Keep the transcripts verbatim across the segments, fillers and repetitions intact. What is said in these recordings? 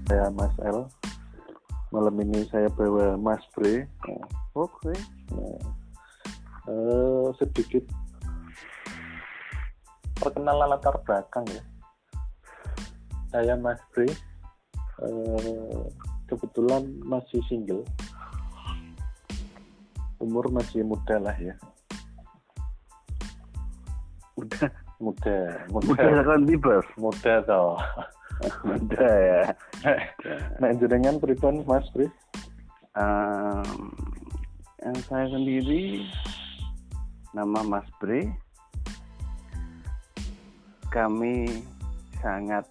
Saya Mas L. Malam ini saya bawa Mas Bre. Nah, Oke. nah, uh, sedikit perkenalan latar belakang ya. Saya Mas Bre. Uh, kebetulan masih single. Umur masih muda lah ya. Udah Muda, muda, udah kan bebas. muda toh. Udah ya. Nah, jenengan pripun Mas Bre? Um, yang saya sendiri nama Mas Bre. Kami sangat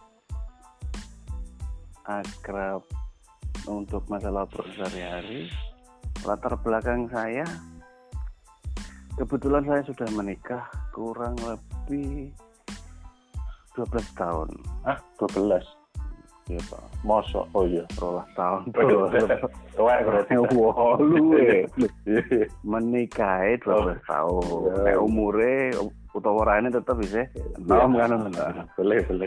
akrab untuk masalah sehari-hari. Latar belakang saya, kebetulan saya sudah menikah kurang lebih dua belas tahun. Ah, dua belas. Iya Pak. Mosok, oh iya. Rolah tahun. Tua berarti. Wah, lu menikah dua belas tahun. Kayak umure utawa warane tetap bisa enam kan. Boleh, boleh.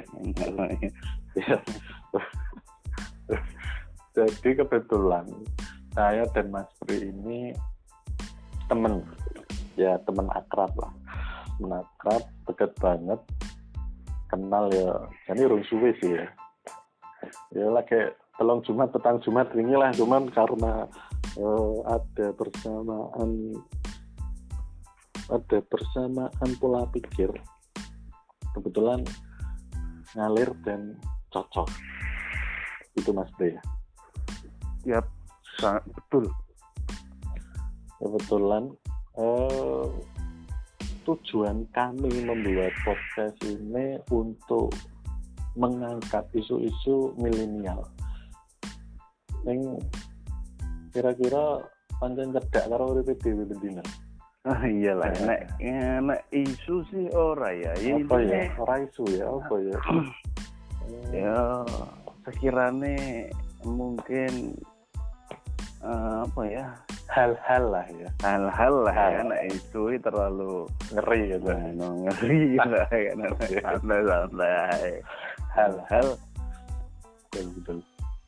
Jadi kebetulan saya dan Mas Bre ini teman, ya teman akrab lah, teman akrab, dekat banget, kenal ya, jadi urung suwe sih ya, ya lah kayak telung Jumat, petang Jumat ini lah, cuman karena uh, ada persamaan, ada persamaan pola pikir, kebetulan ngalir dan cocok, itu Mas Bre ya. Yap, sangat betul. Kebetulan eh, tujuan kami membuat podcast ini untuk mengangkat isu-isu milenial. Yang kira-kira pancen cedak karo uripe dhewe bendina. Ah iyalah, nek nek isu sih ora ya. Apa ya? Ora isu ya, apa ya? Ya, sekiranya mungkin uh, apa ya? Hal-hal lah ya, hal-hal lah hal. Ya, nah itu terlalu ngeri gitu. Nah, ngeri lah ya, santai-santai. Hal-hal betul-betul.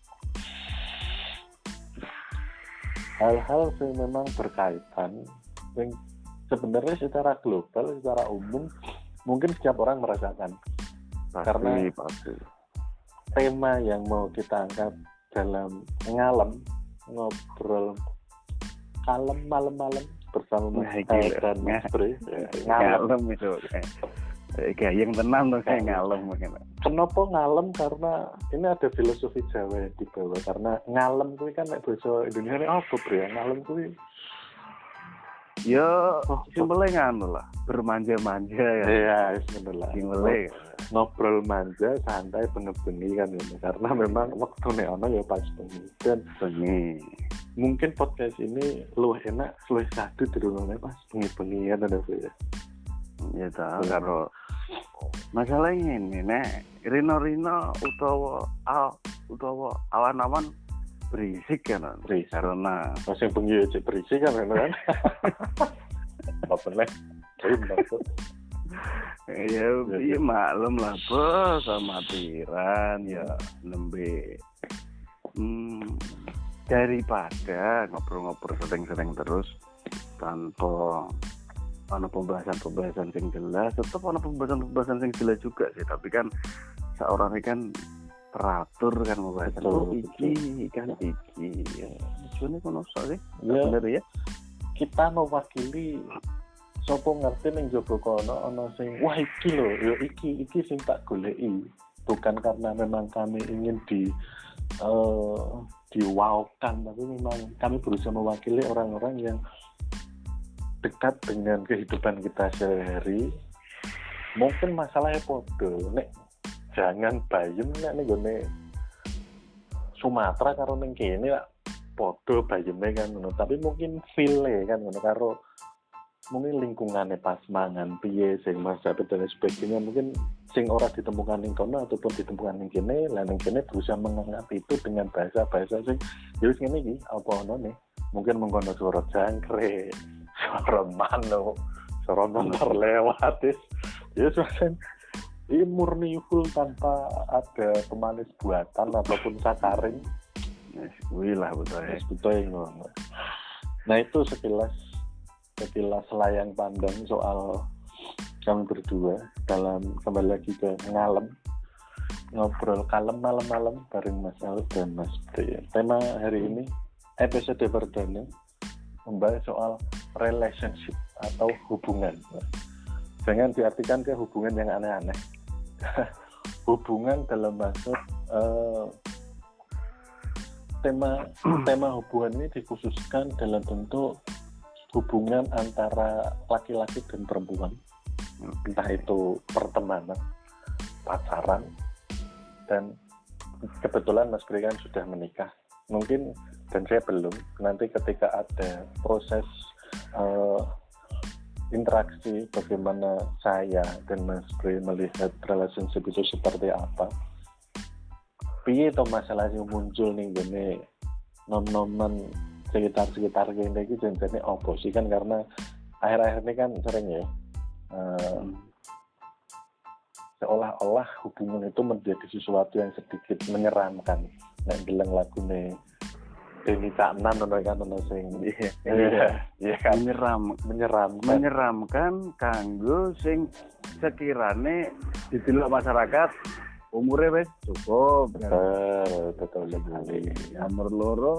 Hal-hal yang memang berkaitan, yang sebenarnya secara global, secara umum, mungkin setiap orang merasakan. pasti, Karena pasti. tema yang mau kita angkat dalam ngalem, ngobrol kalem malam-malam bersama Mas L dan Mas Bre. Ngalem itu kayak yang tenang tuh kayak ngalem. Kenapa ngalem? Karena ini ada filosofi Jawa di bawah. Karena ngalem itu kan nek bahasa Indonesia ini apa Bre? Ngalem itu ya oh, simpelnya nganu lah, bermanja-manja ya. Iya, bismillah. Simpelnya ngobrol manja, santai, bengi-bengi kan ini. Karena memang waktu nek ono ya pas bengi. Dan bengi. Mungkin podcast ini luwih enak, luwih sadu dirungokne pas bengi-bengi ya ada ya. Ya ta, karo masalahnya ini nek rino-rino utawa aw, utawa awan-awan berisik kan, berisik. Karena pas yang bengi aja berisik kan kan. Apa nih? Ya, iya maklum lah bos, sama tiran ya nembe. Hmm, daripada ngobrol-ngobrol sering-sering terus tanpa ana pembahasan-pembahasan yang jelas, tetap ana pembahasan-pembahasan yang jelas juga sih, tapi kan seorang ini kan teratur kan pembahasan oh, iki kan iki ya tujuannya kono sih ya bener ya kita mewakili sapa ngerti ning jaba kono ana sing wah iki lho ya iki iki sing tak goleki, bukan karena memang kami ingin di uh, diwaukan, tapi memang kami berusaha mewakili orang-orang yang dekat dengan kehidupan kita sehari. Mungkin masalahnya podo nek jangan bayem nek ning gone Sumatera karo ning kene lak podo bayeme kan ngono, tapi mungkin feel-e kan ngono karo mungkin lingkungannya pas mangan piye sing masak dan sebagainya, mungkin sing ora ditemukan ning kono ataupun ditemukan ning kene, lan ning kene berusaha mengangkat itu dengan bahasa-bahasa sing ya wis ngene iki apa ono nih, mungkin mengkono suara jangkrik, suara manuk, suara motor lewat is ya wis ini murni full tanpa ada pemanis buatan ataupun sakarin. Yes, kuwi lah betul ya. Yes, betul ngono. Nah itu sekilas sekilas layang pandang soal kami berdua dalam kembali lagi ke ngalem ngobrol kalem malam-malam bareng Mas Al dan Mas Bre. Tema hari ini episode perdana membahas soal relationship atau hubungan. Jangan diartikan ke hubungan yang aneh-aneh. Hubungan dalam maksud uh, tema tema hubungan ini dikhususkan dalam bentuk hubungan antara laki-laki dan perempuan, entah itu pertemanan, pacaran, dan kebetulan Mas Bre kan sudah menikah, mungkin dan saya belum. Nanti ketika ada proses uh, interaksi bagaimana saya dan Mas Bre melihat relationship itu seperti apa, piye to masalah yang muncul nih gini nom-noman sekitar-sekitar gini iki jenenge opo sih kan, karena akhir-akhir ini kan sering ya uh, seolah-olah hubungan itu menjadi sesuatu yang sedikit menyeramkan. Nek bilang lagu nih Deni Caknan ono kan ono sing iya iya kan menyeram menyeramkan menyeramkan kanggo sing sekirane didelok masyarakat umure wis cukup. Betul, betul sekali. Nomor loro,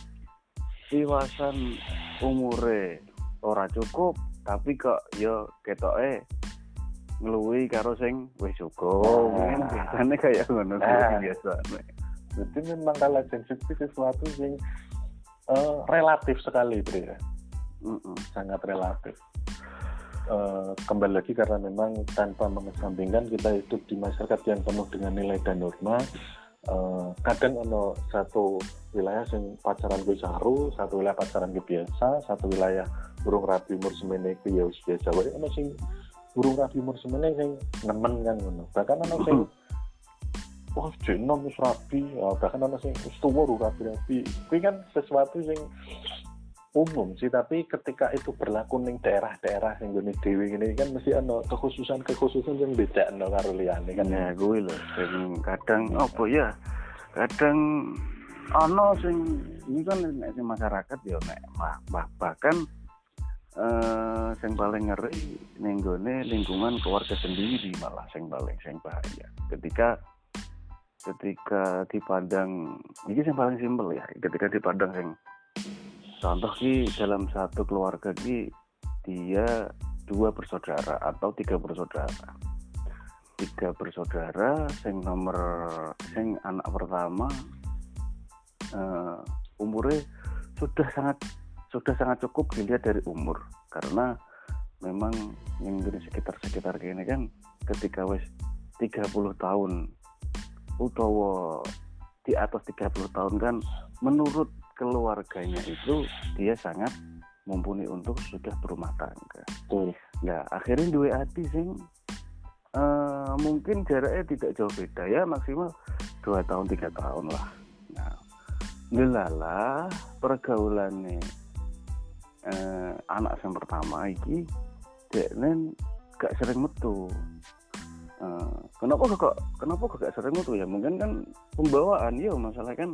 iwasan umure ora cukup, tapi kok yo ketoke ngluwi karo sing wis cukup. Mungkin biasane kaya ngono biasane. Jadi memang relationship itu sesuatu yang uh, relatif sekali, Bre ya. Mm-mm, sangat relatif. Uh, kembali lagi karena memang tanpa mengesampingkan kita hidup di masyarakat yang penuh dengan nilai dan norma. Uh, kadang ono satu wilayah yang pacaran gue saru, satu wilayah pacaran gue biasa, satu wilayah burung rabi umur semene gue ya biasa. Wae ono sing burung rabi umur semene sing nemen kan ngono. Bahkan ono sing wah jenom wis rabi, bahkan ono sing wis tuwa rabi-rabi. Kuwi kan sesuatu sing umum sih, tapi ketika itu berlaku ning daerah-daerah sing ngene dhewe ngene kan mesti ana kekhususan-kekhususan sing bedakno karo liyane kan. Ya kuwi lho sing kadang apa ya? Kadang ana sing ini kan nek sing masyarakat ya nek bah, bahkan eh sing paling ngeri ning gone lingkungan keluarga sendiri malah sing paling sing bahaya. Ketika ketika dipandang ini yang paling simpel ya, ketika dipandang yang contoh ki dalam satu keluarga ki dia dua bersaudara atau tiga bersaudara tiga bersaudara yang nomor yang anak pertama uh, umurnya sudah sangat sudah sangat cukup dilihat dari umur, karena memang yang di sekitar-sekitar gini kan ketika wes tiga puluh tahun utawa di atas tiga puluh tahun kan menurut keluarganya itu dia sangat mumpuni untuk sudah berumah tangga. Tuh. Nah, akhirnya dua hati sing uh, mungkin jaraknya tidak jauh beda ya, maksimal dua tahun tiga tahun lah. Nah, ngelalah pergaulannya uh, anak yang pertama iki deknen gak sering metu. Uh, kenapa kok kenapa kok gak sering metu ya? Mungkin kan pembawaan ya, masalah kan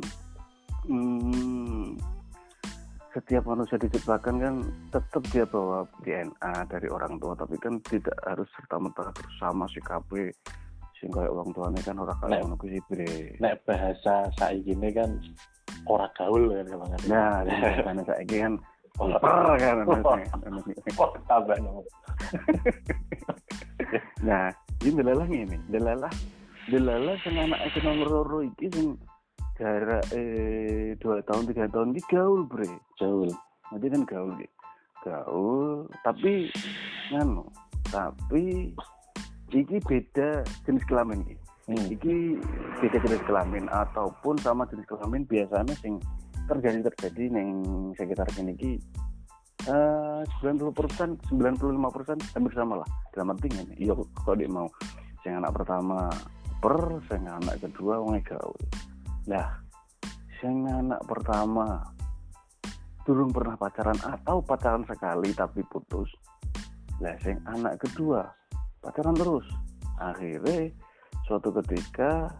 Hmm, setiap manusia diciptakan kan tetap dia bawa D N A dari orang tua, tapi kan tidak harus serta-merta bersama si K P sing kaya orang tuanya kan ora kaya ngono kuwi Bre. Nek bahasa saiki ini kan ora gaul kan banget. Nah, bahasane saiki kan ora kan. Oh, tambah nopo. Nah, iki delalah ngene, delalah delalah sing anak sing nomor loro iki sing jarak eh dua tahun tiga tahun ini gaul Bre, gaul. Nanti kan gaul gitu, gaul. Tapi nganu, tapi iki beda jenis kelamin iki. Hmm. Iki beda jenis kelamin ataupun sama jenis kelamin biasanya sing terjadi terjadi neng sekitar sini iki uh, sembilan puluh persen, sembilan puluh lima persen hampir sama lah. Dalam arti ngene, iya kok dia mau sing anak pertama per, sing anak kedua wong gaul. Nah, sing anak pertama durung pernah pacaran atau pacaran sekali tapi putus. Lah sing anak kedua pacaran terus akhirnya suatu ketika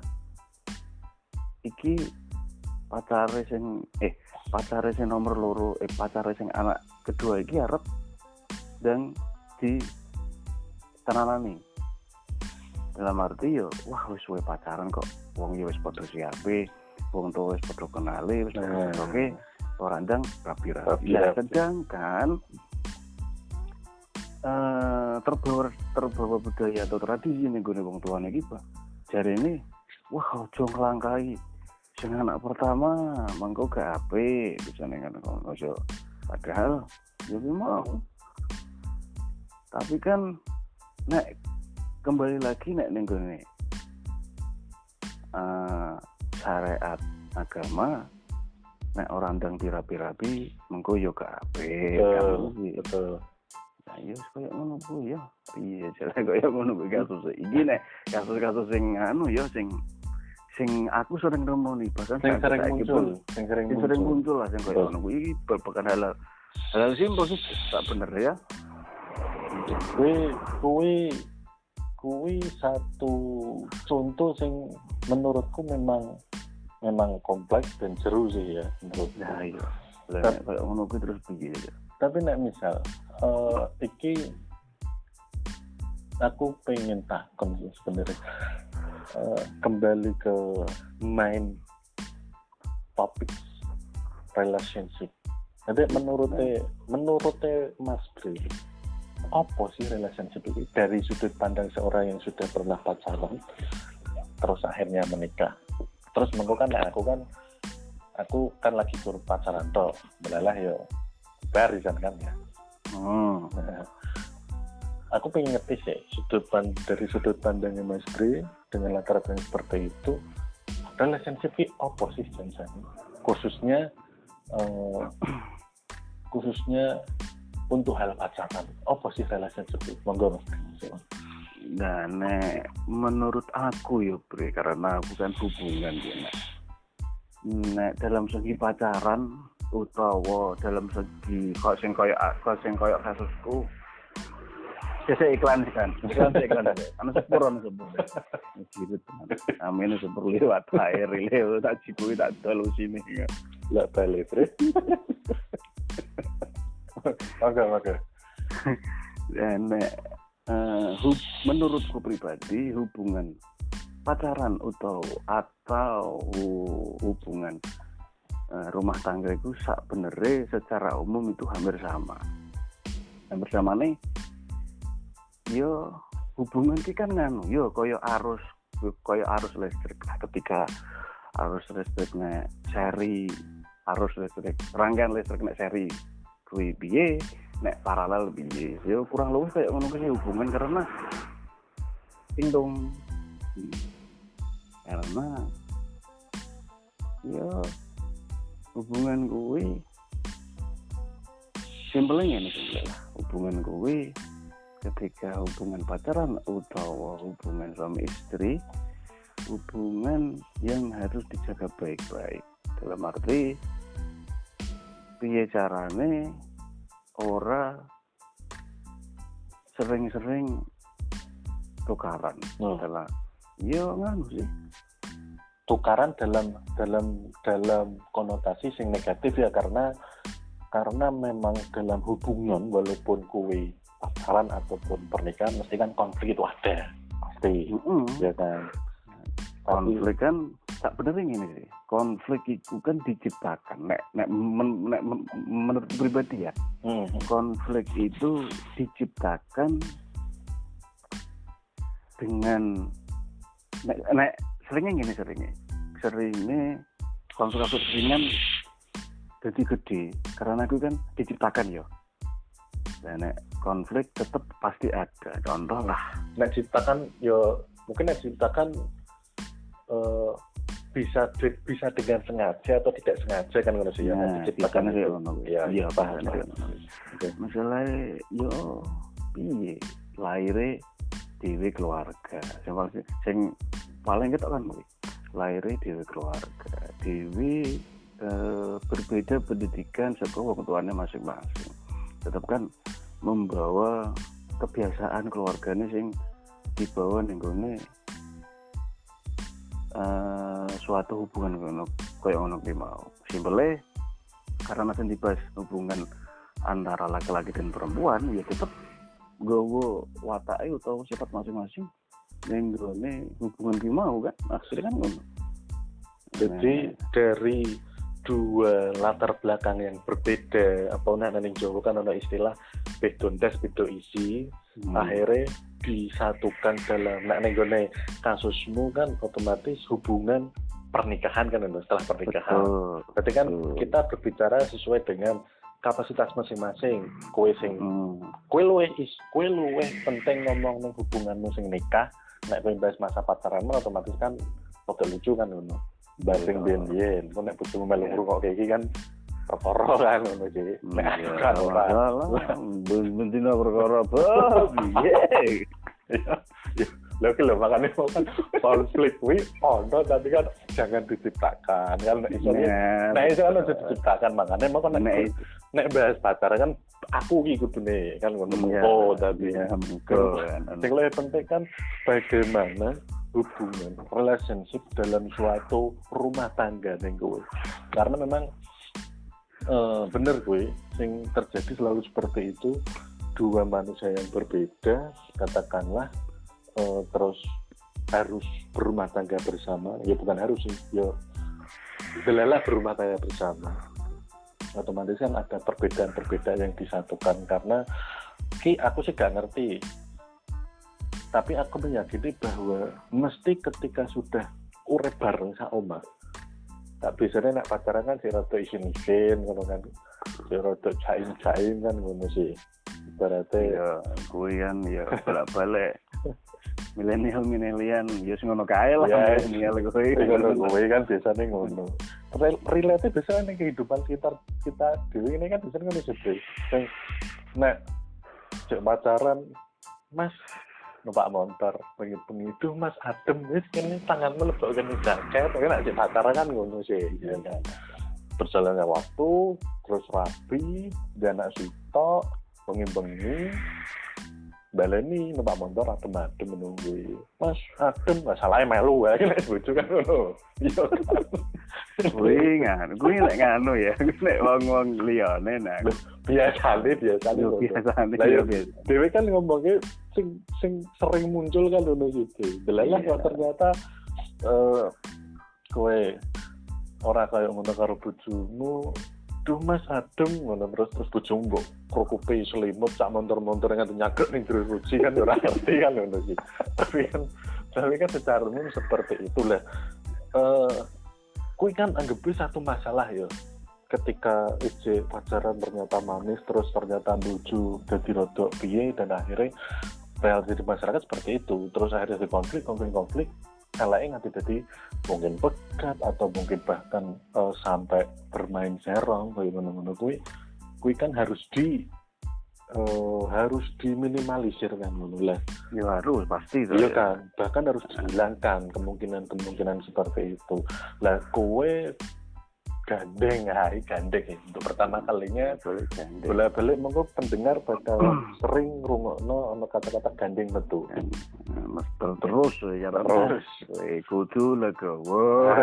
iki pacare sing eh pacare sing nomor loro eh pacare sing anak kedua iki arep dan di tananani dalam arti yo wah wis suwe pacaran kok wong yo wis padha siape wong tuwa wis padha kenali wis padha oke ora ndang rapi-rapi ya sedangkan eh terbawa terbawa budaya atau tradisi ning gone wong tuane iki Pak jarene wah ojo nglangkai sing anak pertama mangko gak apik bisa ning ngono ojo padahal yo mau tapi kan nek kembali lagi nek ning gone uh, syariat agama nek orang ndang dirapi-rapi mengko yo gak apik kan betul nah yo koyo ngono ku ya iya jare koyo ngono kuwi kasus iki nek kasus-kasus sing anu yo sing sing aku sering nemoni bahkan sing sering muncul sing sering muncul sering muncul lah sing koyo ngono kuwi bukan halal halal simpel sih tak bener ya kuwi kuwi kuwi satu contoh sing menurutku memang memang kompleks dan seru sih ya menurut nah iya lah koyo ngono kuwi terus piye ya tapi nek misal uh, iki aku pengen takon sebenarnya Uh, kembali ke main topik relationship. Jadi menurutnya menurutnya Mas Bri, apa sih relationship itu dari sudut pandang seorang yang sudah pernah pacaran terus akhirnya menikah. Terus mengko kan aku kan aku kan lagi suruh pacaran toh, belalah yo barisan kan ya. Hmm. Nah, aku pengen ngerti sih sudut pandang dari sudut pandangnya Mas Bri dengan latar belakang seperti itu relationship itu apa sih Jansan? Khususnya uh, khususnya untuk hal pacaran apa sih relationship itu? Monggo Mas Bri. Nah, nek menurut aku ya Bre karena bukan hubungan ya nek. Nek dalam segi pacaran utawa dalam segi kok sing koyo kok sing koyo kasusku saya iklan sih kan, iklan sih iklan deh. Anu sepur, anu sepur. Jirit, amin sepur lewat air lewat tak cikui tak terlalu sini. Lah balik, Bre. Oke, oke. Dan uh, hub, menurutku pribadi hubungan pacaran atau atau hubungan uh, rumah tangga itu sak benernya secara umum itu hampir sama. Hampir sama nih. Yo hubungan ki kan nganu yo koyo arus koyo arus listrik lah ketika arus listrik nek seri arus listrik rangkaian listrik nek seri kuwi piye nek paralel piye yo kurang luwih kayak ngono kuwi hubungan karena pindong karena yo hubungan kuwi simpelnya ini simpel lah hubungan kuwi ketika hubungan pacaran atau hubungan suami istri hubungan yang harus dijaga baik-baik dalam arti piye carane ora sering-sering tukaran hmm. adalah yo nganu sih tukaran dalam dalam dalam konotasi sing negatif ya karena karena memang dalam hubungan walaupun kuwi pacaran ataupun pernikahan mesti kan konflik itu ada pasti mm-hmm. ya kan konflik Tapi, kan tak bener ini sih konflik itu kan diciptakan nek nek, men, nek men, menurut pribadi ya mm-hmm. konflik itu diciptakan dengan nek, nek seringnya gini seringnya seringnya konflik ringan jadi gede karena itu kan diciptakan ya dan konflik tetap pasti ada contoh lah nek ciptakan yo mungkin nek ciptakan uh, bisa bisa dengan sengaja atau tidak sengaja kan ngono sih ya nah, diciptakan itu ya iya paham okay. Masalah yo piye laire dhewe keluarga sing sing paling ketok kan kuwi laire dhewe keluarga dhewe eh, berbeda pendidikan saka wong tuane masing-masing tetap kan membawa kebiasaan keluarganya sing dibawa ning gone uh, suatu hubungan ngono koyo ngono ki mau. Simpele karena nanti dibahas hubungan antara laki-laki dan perempuan ya tetap gowo watake utawa sifat masing-masing ning gone hubungan ki mau kan akhirnya kan ngono. Jadi nah, dari dua latar belakang yang berbeda, apa nek ning Jawa kan ana istilah bedo ndas bedo isi, hmm. akhirnya disatukan dalam nek ning gone kasusmu kan otomatis hubungan pernikahan kan setelah pernikahan. Betul. Berarti kan Betul. kita berbicara sesuai dengan kapasitas masing-masing. Kowe sing hmm. kowe luwih is kowe luwih penting ngomong ning hubunganmu sing nikah, nek kowe bahas masa pacaranmu otomatis kan rada lucu kan ngono. Basing biyen-biyen, kok nek bojomu melu ngrungok kayak iki kan perkara kan ngono iki. Nek kan ora. Bendina perkara piye? Lha ki lho makane kan konflik kuwi ono tapi kan jangan diciptakan kan nek iso nek iso kan aja diciptakan makane mau kan nek nek bahas pacaran kan aku iki kudune kan ngono. Oh tapi mengko sing luwih penting kan bagaimana hubungan relationship dalam suatu rumah tangga ning kowe. Karena memang uh, bener gue sing terjadi selalu seperti itu, dua manusia yang berbeda katakanlah uh, terus harus berumah tangga bersama, ya bukan harus sih, ya belalah berumah tangga bersama. Otomatis kan ada perbedaan-perbedaan yang disatukan karena ki aku sih gak ngerti. Tapi aku meyakini bahwa mesti ketika sudah urip bareng sak omah. Tak biasanya nak pacaran kan si rada isin-isin ngono kan. Si rada cain-cain kan ngono sih. Ibaratnya ya kuwi kan ya bolak-balik. Milenial milenial ya sing ngono kae lah milenial kuwi. Ngono kuwi kan biasanya ngono. Relate biasanya ning kehidupan sekitar kita dhewe ini kan biasanya ngono sih. Sing nek cek pacaran Mas numpak motor bengi-bengi itu Mas adem wis kene tanganmu lebokne jaket kan nek pacaran kan ngono sih ya kan berjalannya waktu terus rapi dan anak sitok bengi-bengi baleni numpak motor adem-adem menunggu Mas adem masalahnya melu wae nek bojo kan ngono iya kan kuwi nganu kuwi nek nganu ya nek wong-wong liyane nah biasane biasane biasane dhewe kan ngomongnya sing sing sering muncul kan ngono gitu. Delalah kok ternyata eh kowe ora kaya ngono karo bojomu. Duh Mas adem ngono terus terus bojomu mbok krokupe selimut sak montor-montor nganti nyagrek ning jero ruci kan ora ngerti kan ngono sih. Tapi kan tapi kan secara umum seperti itulah. Eh kuwi kan anggapnya satu masalah ya. Ketika ije pacaran ternyata manis terus ternyata bojo dadi rodok piye dan akhirnya reality di masyarakat seperti itu terus akhirnya di konflik konflik konflik eleke nganti dadi mungkin pekat atau mungkin bahkan uh, sampai bermain serong kayak ngono-ngono kuwi kuwi kan harus di uh, harus diminimalisir kan ngono lah ya harus pasti itu iya kan bahkan harus dihilangkan kemungkinan-kemungkinan seperti itu lah kowe gandeng hai gandeng ya. Untuk pertama kalinya bolak-balik monggo pendengar bakal sering ngrungokno ana kata-kata gandeng betul. Mesti terus ya terus. Kudu legowo.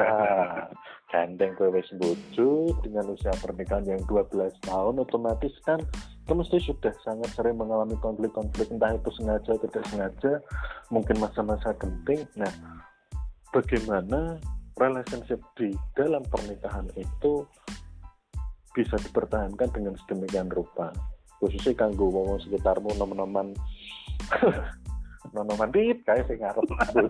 Gandeng kowe wis bojo dengan usia pernikahan yang dua belas tahun otomatis kan kamu mesti sudah sangat sering mengalami konflik-konflik entah itu sengaja atau tidak sengaja, mungkin masa-masa genting. Nah, bagaimana relationship di dalam pernikahan itu bisa dipertahankan dengan sedemikian rupa khususnya kanggo wong sekitarmu nom-noman nom-noman dit kae sing ngarep bojo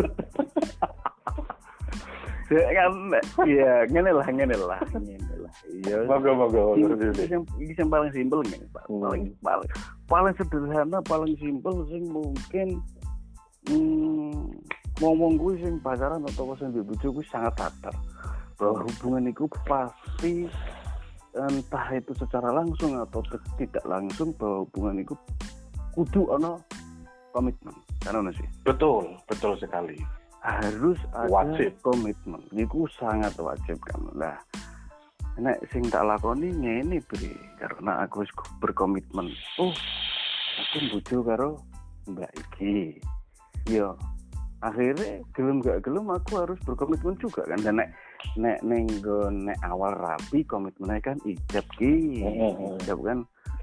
kan ya ngene lah ngene lah ngene lah iya moga-moga iki sing paling simpel ngene Pak paling paling paling sederhana paling simpel sing mungkin hmm, ngomong gue sing pacaran atau sing bojo gue sangat sadar bahwa hubungan itu pasti entah itu secara langsung atau tidak langsung bahwa hubungan itu kudu ana komitmen kan ono sih betul betul sekali harus ada wajib. Komitmen itu sangat wajib kan lah nek sing tak lakoni ngene bre karena aku berkomitmen oh aku bojo karo mbak iki ya akhirnya gelem gak gelem aku harus berkomitmen juga kan. Dan nek nek ning nek awal rapi komitmennya kan ijab ki ijab kan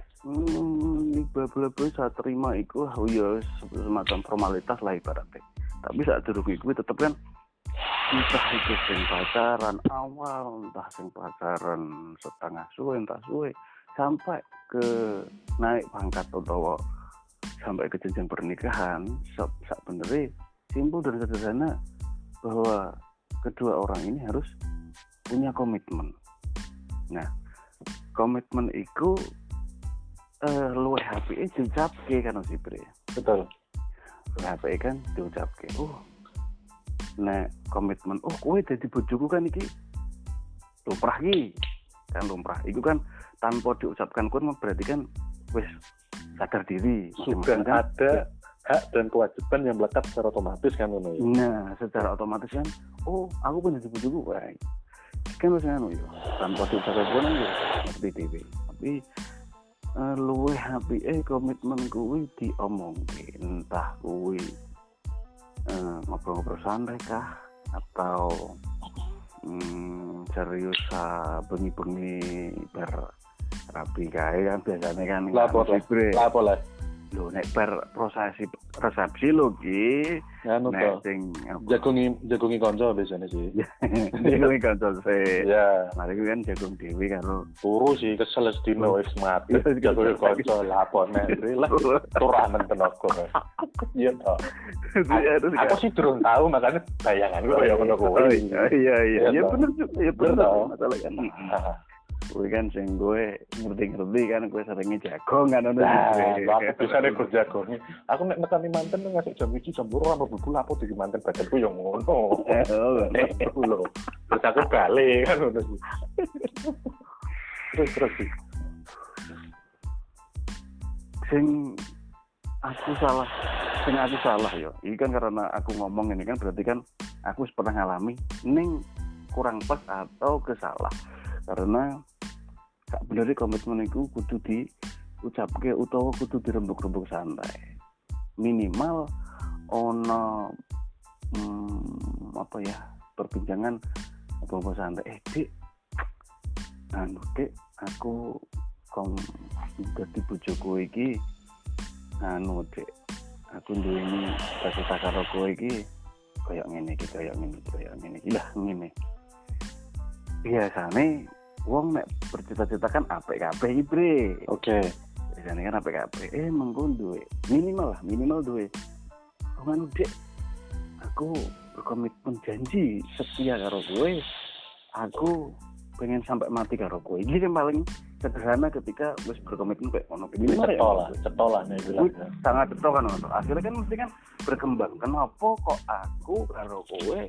hmm bla bla bla saat terima iku oh ya semacam formalitas lah ibaratnya. Tapi saat durung iku tetep kan entah itu sing pacaran awal, entah sing pacaran setengah suwe, entah suwe sampai ke naik pangkat atau sampai ke jenjang pernikahan. Sebenarnya simpel dan sederhana bahwa kedua orang ini harus punya komitmen. Nah, komitmen itu eh, luwih H P E diucapke kan si Bre. Betul. H P E kan diucapke. Oh. Nah, komitmen oh kowe dadi bojoku kan iki lumrah iki. Kan lumrah. Iku kan tanpa diucapkan pun berarti kan wis sadar diri. Sudah kan ada hak dan kewajiban yang melekat secara otomatis kan ngono ya. Nah, secara otomatis kan oh aku pun dadi bojoku wae. Kan wis ngono ya. Tanpa diucapkan pun ya ngerti dhewe. Tapi uh, luwih H P E komitmen kuwi diomongke entah kuwi Uh, ngobrol-ngobrol santai kah atau hmm, serius uh, bengi-bengi berapi kae kan biasanya kan lapor lapor lah lho nek ber prosesi resepsi lho ki anu to sing jagongi jagongi kanca biasanya sih jagongi kanca sih ya mari kan jagung dewi karo turu sih kesel sedino wis mati jagongi kanca lapor nek lah turamen tenaga iya to aku sih durung tahu makanya bayanganku ya ngono kuwi iya iya ya bener juga ya bener masalah kan gue kan sing gue ngerti-ngerti kan gue seringnya jagung kan ono sih. Lah aku bisa nek jagung. Aku nek nekani manten ngasih jam iki jam loro apa buku lapo di manten badanku yo ngono. Oh lho. Terus aku bali kan ngono sih. Terus terus sih. Sing aku salah, sing aku salah yo. Ini kan karena aku ngomong ini kan berarti kan aku pernah ngalami ning kurang pas atau kesalah. Karena gak bener komitmen itu kudu diucapke utawa kudu dirembuk-rembuk santai. Minimal ono hmm, apa ya perbincangan apa santai. Eh dik, anu dik, aku kom dadi bojoku iki anu dik, aku duweni cita-cita karo kowe iki kaya ngene iki, kaya ngene, kaya ngene iki lah ngene. Biasane wong nek bercita-cita kan apik kabeh iki, Bre. Oke. Biasane kan apik kabeh. Eh mengko duwe minimal lah, minimal duwe. Oh anu Dik, aku berkomitmen janji setia karo kowe. Aku pengen sampai mati karo kowe. Iki yang paling sederhana ketika wis berkomitmen kayak ngono. Ini cetolah, cetolah nek bilang. Sangat cetok kan ngono. Akhirnya kan mesti kan berkembang. Kenapa kok aku karo kowe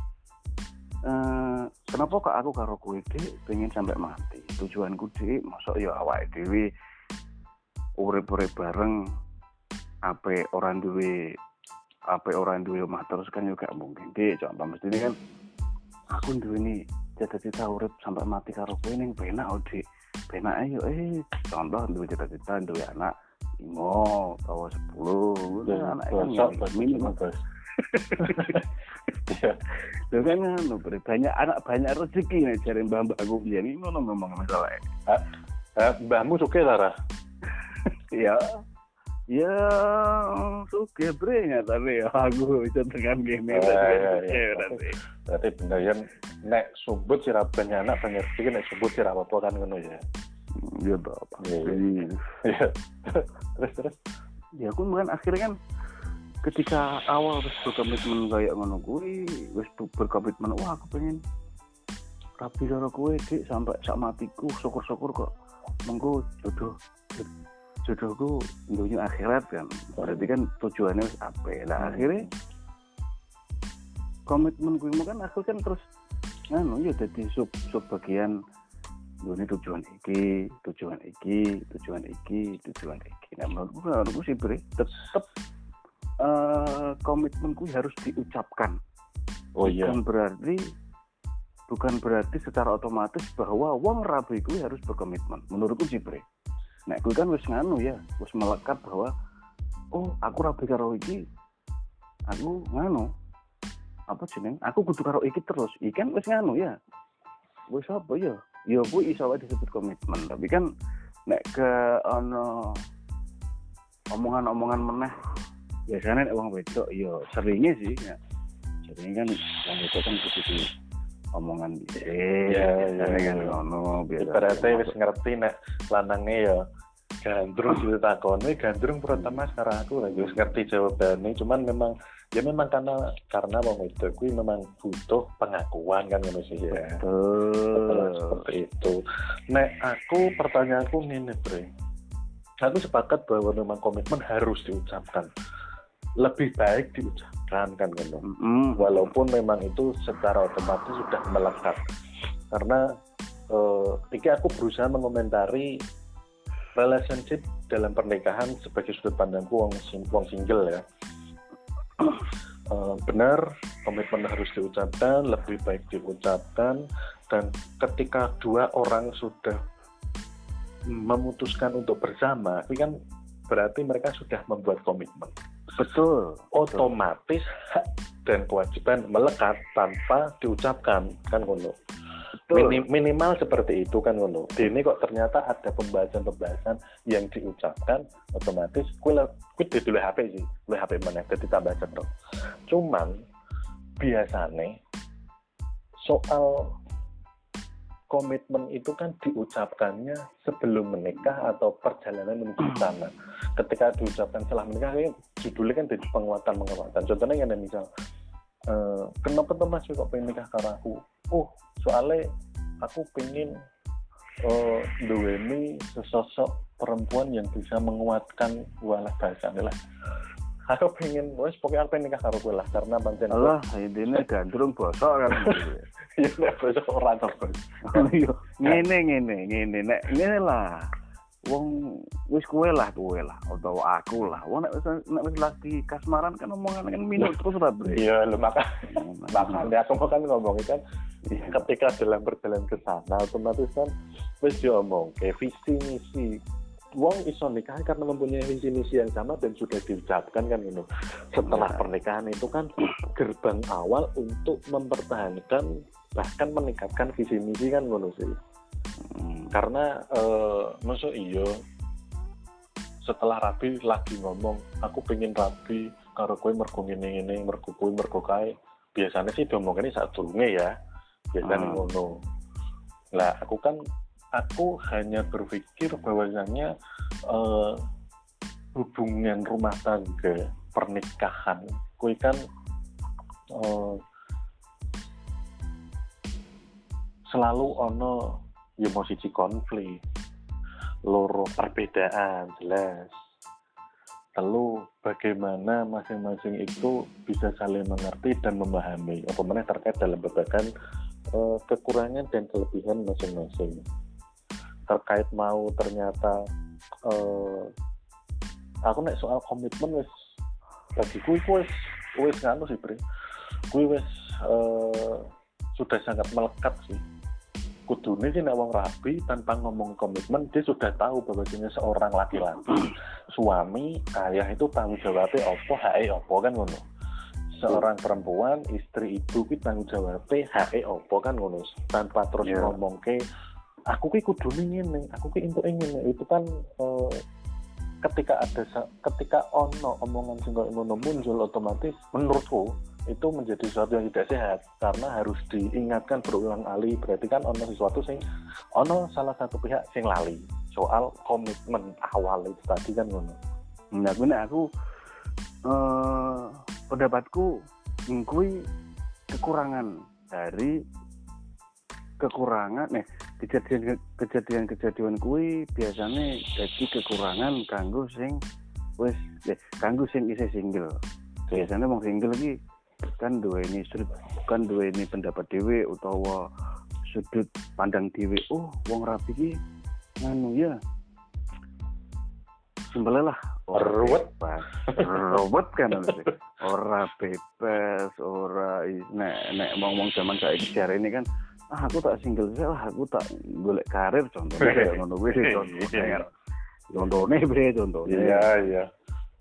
Uh, kenapa kok aku karo kowe Dik pengen sampai mati? Tujuanku Dik, mosok ya awake dhewe urip-urip bareng ape orang duwe ape orang duwe omah terus kan juga mungkin Dik. Contoh mesti ini kan aku duwe ini cita-cita urip sampai mati karo kowe ning penak oh Dik. Penak ayo eh contoh duwe cita-cita duwe anak lima atau sepuluh anak kan minimal Bos. Ya, itu kan anu banyak anak banyak rezeki nih cari mbak-mbak aku biar ini ngono ngomong masalah. Ah, mbahmu suka Lara? Ya, ya suka bre nggak tapi ya aku bisa tekan gini. Berarti bener ya nek sumbut sih banyak anak banyak rezeki nek sumbut sih apa kan ngono ya. Iya toh. Iya. Terus terus. Ya aku kan akhirnya kan ketika awal wis berkomitmen kayak ngono kuwi, wis berkomitmen wah aku pengen rapi karo kowe Dik sampai sak matiku, syukur-syukur kok mengko jodoh jodohku dunia akhirat kan. Berarti kan tujuannya wis ape. Lah akhirnya komitmen kuwi kan aku kan terus ngono ya dadi sub sub bagian dunia tujuan iki, tujuan iki, tujuan iki, tujuan iki. Nah menurutku menurutku sih Bre tetep Uh, komitmenku harus diucapkan. Oh iya. Bukan berarti bukan berarti secara otomatis bahwa wong rabi kuwi harus berkomitmen. Menurutku sih Bre. Nek kuwi kan wis nganu ya, wis melekat bahwa oh aku rabi karo iki aku nganu apa jeneng aku kudu karo iki terus ikan wis nganu ya wis apa ya ya kuwi iso wae disebut komitmen tapi kan nek ke ono omongan-omongan meneh biasanya nek wong wedok ya seringnya sih ya sering kan wong wedok kan kudu omongan bisa ya ya kan ono biasa berarti wis ngerti nek lanange ya gandrung ditakoni gandrung pertama sekarang aku lagi wis ngerti jawabannya cuman memang ya memang karena karena wong wedok kuwi memang butuh pengakuan kan ngono sih ya. Betul. Seperti itu. Nek aku pertanyaanku ngene, Bre. Aku sepakat bahwa memang komitmen harus diucapkan. Lebih baik diucapkan kan ngono. Mm-hmm. Walaupun memang itu secara otomatis sudah melekat. Karena eh, iki aku berusaha mengomentari relationship dalam pernikahan sebagai sudut pandangku wong wong single ya. Uh, benar komitmen harus diucapkan, lebih baik diucapkan dan ketika dua orang sudah memutuskan untuk bersama, itu kan berarti mereka sudah membuat komitmen. Betul. Otomatis hak dan kewajiban melekat tanpa diucapkan kan ngono. Minim, minimal seperti itu kan ngono. Ini kok ternyata ada pembahasan-pembahasan yang diucapkan otomatis kuwi kuwi dulu H P sih, kuwi H P meneh dadi tambah cetro. Cuman biasane soal komitmen itu kan diucapkannya sebelum menikah atau perjalanan menuju sana. Ketika diucapkan setelah menikah kayak judulnya kan jadi penguatan-penguatan. Contohnya yang misal Uh, kenapa tuh mas kok pengen nikah karo aku? Oh, soalnya aku pengen uh, duweni sesosok perempuan yang bisa menguatkan walah bahasa lah. Aku pengen, wes pokoknya aku pengen nikah karo kowe lah karena pancen. Allah, intine gandrung bosok kan. Ya nek bosok ora to, Bos. Yo, ngene ngene ngene nek ngene lah. Wong wis kowe lah kowe lah atau aku lah wong nek nek wis lagi kasmaran kan omongan kan minum terus ra bre iya lho maka makanya aku kan ngomong kan ketika dalam perjalanan ke sana otomatis kan wis diomong ke visi misi wong iso nikah karena mempunyai visi misi yang sama dan sudah diucapkan kan gitu setelah pernikahan itu kan gerbang awal untuk mempertahankan bahkan meningkatkan visi misi kan ngono sih. Hmm. Karena uh, maksud iyo setelah rabi lagi ngomong aku pengen rabi karo kowe mergo ngene-ngene mergo kowe mergo kae biasanya sih diomongane saat durunge ya biasanya hmm. ngono lah aku kan aku hanya berpikir bahwasanya uh, hubungan rumah tangga pernikahan kowe kan uh, selalu ono ya mau siji konflik, loro perbedaan jelas. Lalu bagaimana masing-masing itu bisa saling mengerti dan memahami apa mana terkait dalam berbagai uh, kekurangan dan kelebihan masing-masing. Terkait mau ternyata uh, aku nek soal komitmen wis bagiku wis wis nganu sih Bre. Kuwi wis uh, sudah sangat melekat sih. Kudune sih nek wong rabi tanpa ngomong komitmen dia sudah tahu bahwasanya seorang laki-laki suami ayah itu tanggung jawabnya opo hake opo kan ngono. Seorang perempuan istri ibu ki tanggung jawabnya hake opo kan ngono. Tanpa terus yeah. ngomong ke aku ki kudune ngene, aku ki entuk ngene. Itu kan uh, ketika ada ketika ono omongan sing koyo ngono muncul otomatis menurutku itu menjadi sesuatu yang tidak sehat karena harus diingatkan berulang kali berarti kan ono sesuatu sing ono salah satu pihak sing lali soal komitmen awal itu tadi kan ngono. Nah, aku aku eh, pendapatku kuwi kekurangan dari kekurangan nih kejadian kejadian kejadian kuwi biasanya jadi kekurangan kanggo sing wis eh, kanggo sing isih single. Biasanya wong single iki kan dua ini sudut kan dua ini pendapat dewe utawa sudut pandang dewe oh wong rapi ki nganu ya sembelih lah ruwet pas ruwet kan ora bebas ora nek nek ngomong zaman saiki jare ini kan ah aku tak single sih lah aku tak golek karir contohnya kayak ngono kuwi contohnya contohnya bre contohnya iya iya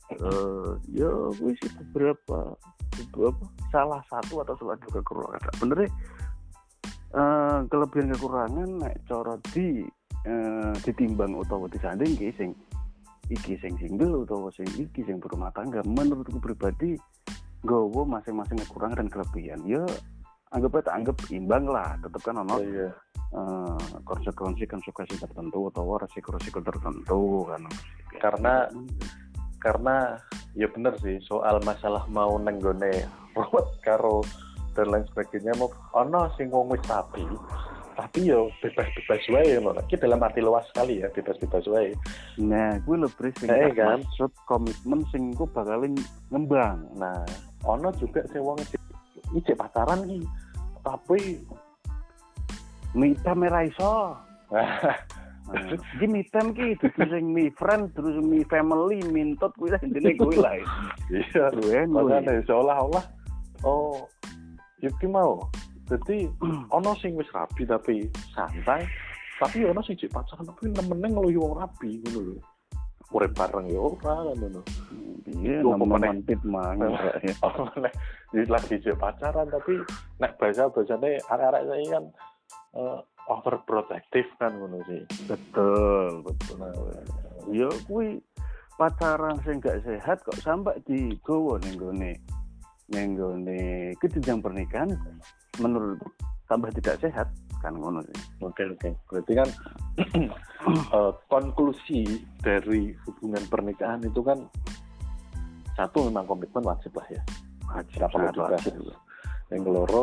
uh, ya gue sih beberapa beberapa salah satu atau salah dua kekurangan bener deh. Uh, kelebihan kekurangan nek cara di uh, ditimbang utawa disanding ki sing iki sing single utawa sing iki sing berumah tangga, menurutku pribadi nggawa masing-masing kekurangan dan kelebihan. Ya anggap aja anggap imbang lah, tetep kan ono Iya. uh, konsekuensi konsekuensi tertentu atau resiko-resiko tertentu kan. Karena karena ya bener sih soal masalah mau nenggone ruwet karo dan lain sebagainya mau ono sing wong wis rapi tapi yo bebas-bebas wae ngono. Iki dalam arti luas sekali ya, bebas-bebas wae. Nah, gue lebih sing Eh, kan? maksud komitmen sing gue bakalin ngembang. Nah, ono juga sing wong iki pacaran iki tapi mita merah iso. Jadi mitem ki dudu sing mi friend terus mi family mintot kuwi lah intine kuwi lah. Iya, makanya seolah-olah oh iki mau. Jadi ono sing wis rapi tapi santai, tapi ono sing cek pacaran tapi nemene ngeluhi wong rapi ngono lho. Urip bareng ya ora ngono. Iya, nemen tip mang ya. Oh, nek lagi cek pacaran tapi nek bahasa-bahasane arek-arek saya kan uh, overprotective kan ngono sih. Betul, betul. Nah, ya kuwi pacaran sing gak sehat kok sampai digowo ning gone ning gone kejenjang pernikahan menurut tambah tidak sehat kan ngono sih. Oke oke. Berarti kan uh, konklusi dari hubungan pernikahan itu kan satu memang komitmen wajib lah ya. Wajib perlu dibahas. Yang keloro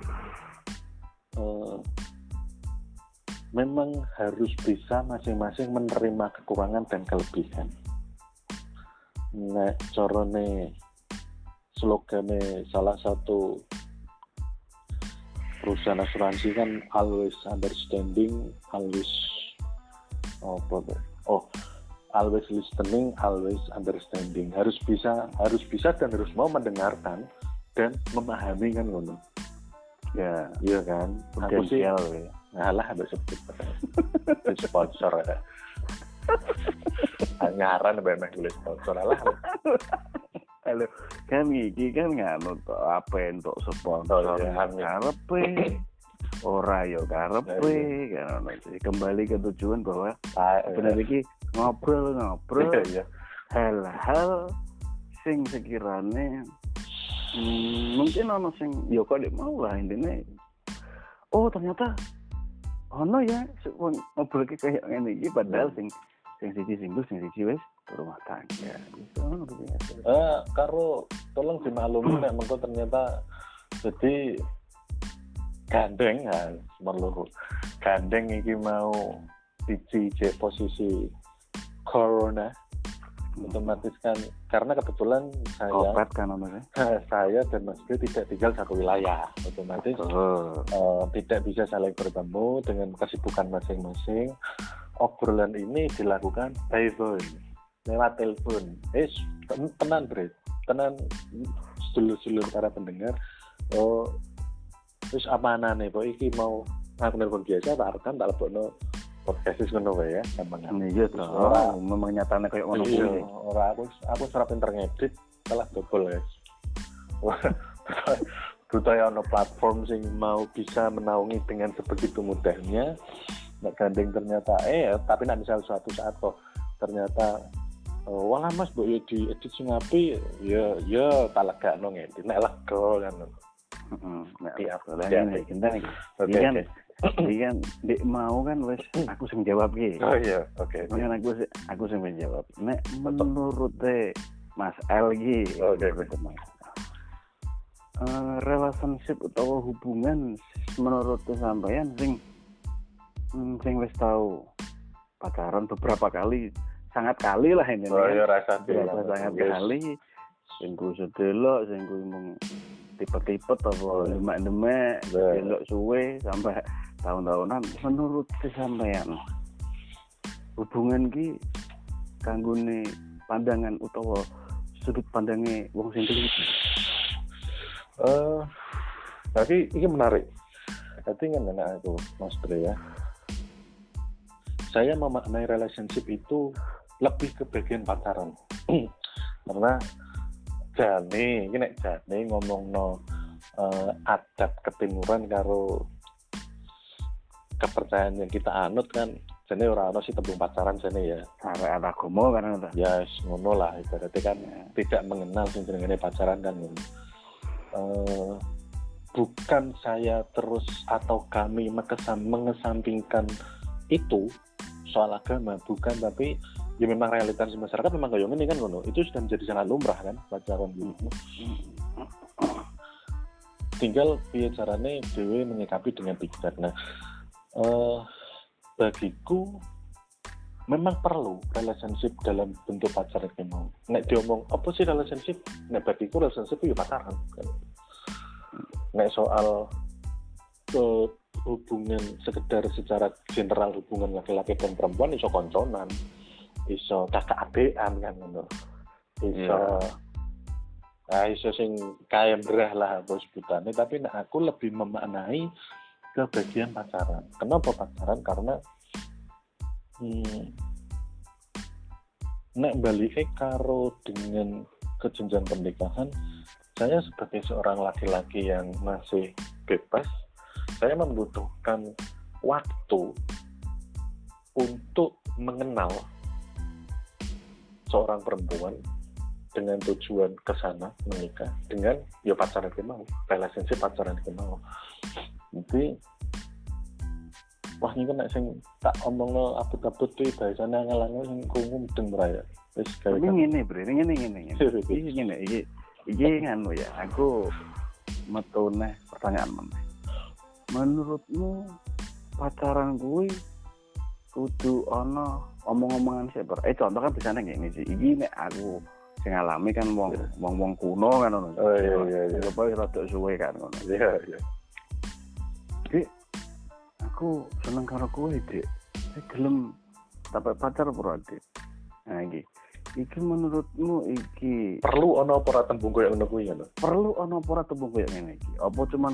uh, memang harus bisa masing-masing menerima kekurangan dan kelebihan. Nek corone slogane salah satu perusahaan asuransi kan always understanding, always oh, oh always listening, always understanding. Harus bisa, harus bisa dan harus mau mendengarkan dan memahami kan ngono. Ya, iya kan. Aku sih ya. Ngalah ambek sebut. Sponsor ya. Nyaran mbek meh tulis sponsor lah. Halo, kan iki kan nganu to apa entuk sponsor karepe. Ora yo karepe kan ono sih. Kembali ke tujuan bahwa benar iki ngobrol-ngobrol hal-hal sing sekiranya hmm, mungkin ono sing yo kok mau lah intine. Oh, ternyata ono ya ngobrol kayak ngene iki padahal sing sing siji single sing siji wis rumah tangga. Itu ono biasa. Eh, karo tolong dimaklumi nek mengko ternyata jadi gandeng ya, merluru. Gandeng iki mau siji je posisi corona. Otomatis kan karena kebetulan saya Kopat kan namanya. saya dan Mas Bro tidak tinggal satu wilayah, otomatis oh. uh, tidak bisa saling bertemu dengan kesibukan masing-masing. Obrolan ini dilakukan by phone, lewat telepon. Eh, tenan Bro, tenan sedulur-sedulur para pendengar. Oh, terus amanane kok iki mau aku nelpon biasa tak rekam tak lebokno podcast wis ngono wae ya, gampang. Iya to. Ora memang nyatane koyo ngono kuwi. Ora aku aku ora pinter ngedit, salah dobel guys. Butuh ya ono platform sing mau bisa menaungi dengan sebegitu mudahnya. Nek gandeng ternyata eh tapi nek misal suatu saat kok ternyata oh, wala Mas mbok yo di edit sing apik ya ya tak legakno ngedit nek lega kan. Heeh. Nek aku lah ini kita iki. Oke. Jadi kan dek mau kan wes aku sing jawab ki. Oh iya, oke. Okay, kan aku aku sing menjawab. Nek menurut te Mas L ki. Oke, okay, uh, relationship atau hubungan menurut sampean sing hmm, sing wis tahu pacaran beberapa kali, sangat kali lah ini. Oh iya, rasa sangat yes. kali. Sing ku sedelok, sing ku mung tipe-tipe atau demak-demak, delok suwe sampai tahun-tahunan. Menurut sampean hubungan ki kanggone pandangan utawa sudut pandangnya wong sing iki. Eh, tapi ini menarik. Tapi kan anak aku Mas Bre ya. Saya memaknai relationship itu lebih ke bagian pacaran. Karena jane iki nek jane ngomongno uh, adat ketimuran karo kepercayaan yang kita anut kan jane ora ono sih tembung pacaran jane ya. Arek agama kan ngono. Ya yes, ngono lah ibaratnya kan ya. Tidak mengenal sing jenenge pacaran kan ngono. Uh, bukan saya terus atau kami mengesam, mengesampingkan itu soal agama, bukan, tapi ya memang realitas masyarakat memang kayak gini kan ngono. Itu sudah menjadi sangat lumrah kan pacaran gitu. Tinggal piye carane dhewe menyikapi dengan bijak. Nah, uh, bagiku memang perlu relationship dalam bentuk pacaran iki mau. Nek diomong apa sih relationship? Nek bagiku relationship itu ya pacaran kan. Nek soal uh, hubungan sekedar secara general hubungan laki-laki dan perempuan iso konconan, iso kakak adean kan ngono. Iso yeah. ah, iso sing kaya berah lah bos sebutane, tapi nek aku lebih memaknai ke bagian pacaran. Kenapa pacaran? Karena hmm, nek balike karo dengan kejenjang pernikahan, saya sebagai seorang laki-laki yang masih bebas, saya membutuhkan waktu untuk mengenal seorang perempuan dengan tujuan ke sana menikah dengan ya pacaran ke mau, relationship pacaran ke mau. Jadi wah ini kan sing tak omongno abot-abot kuwi bahasane ngalange sing krungu mudeng raya. Wis gawe. Ini ngene, Bre, ngene ngene ngene. Iki ngene iki iki nganu ya, aku metune pertanyaan meneh. Menurutmu pacaran kuwi kudu ana omong-omongan sik ber. Eh contoh kan bisane ngene sih. Iki nek aku sing ngalami kan wong wong-wong kuno kan ngono. Oh iya iya iya. Apa rada suwe kan ngono. Iya iya. Dik, aku seneng karo kowe, Dik. Saya gelem sampai pacar apa, Dik? Nah iki. Iki menurutmu iki perlu ana apa ora tembung koyo ngono kuwi ngono? Perlu ana apa ora tembung koyo ngene iki? Apa cuman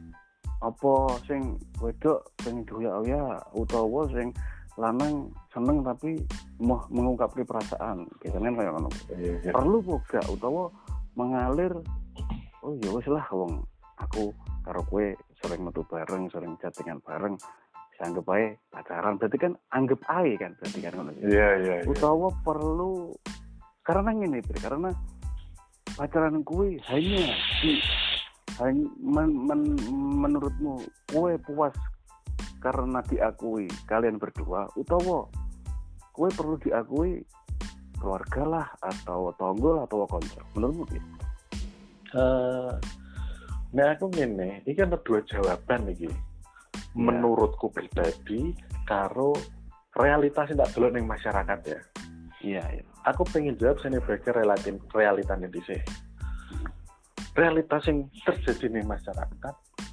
apa sing wedok sing doyak-doyak utawa sing lanang seneng tapi mau mengungkapkan perasaan gitu kan kayak ngono. Iya, iya. Perlu boga utawa mengalir oh ya wis lah wong aku karo kowe sering metu bareng, sering chattingan bareng, dianggap ae pacaran. Berarti kan anggap ae kan berarti kan ngono. Iya iya iya. Utawa perlu karena ngene Bre, karena pacaran kuwi hanya di hanya men, men, menurutmu kowe puas karena diakui kalian berdua utawa kowe perlu diakui keluarga lah atau tonggo lah atau konco menurutmu gitu? Uh, nah aku ngene, ini kan ada dua jawaban iki. Yeah. Menurutku pribadi karo realitas yang tak delok ning masyarakat ya. Iya, iya. Aku pengen jawab sini bagi relatin realitane dhisik. Realitas yang terjadi ning masyarakat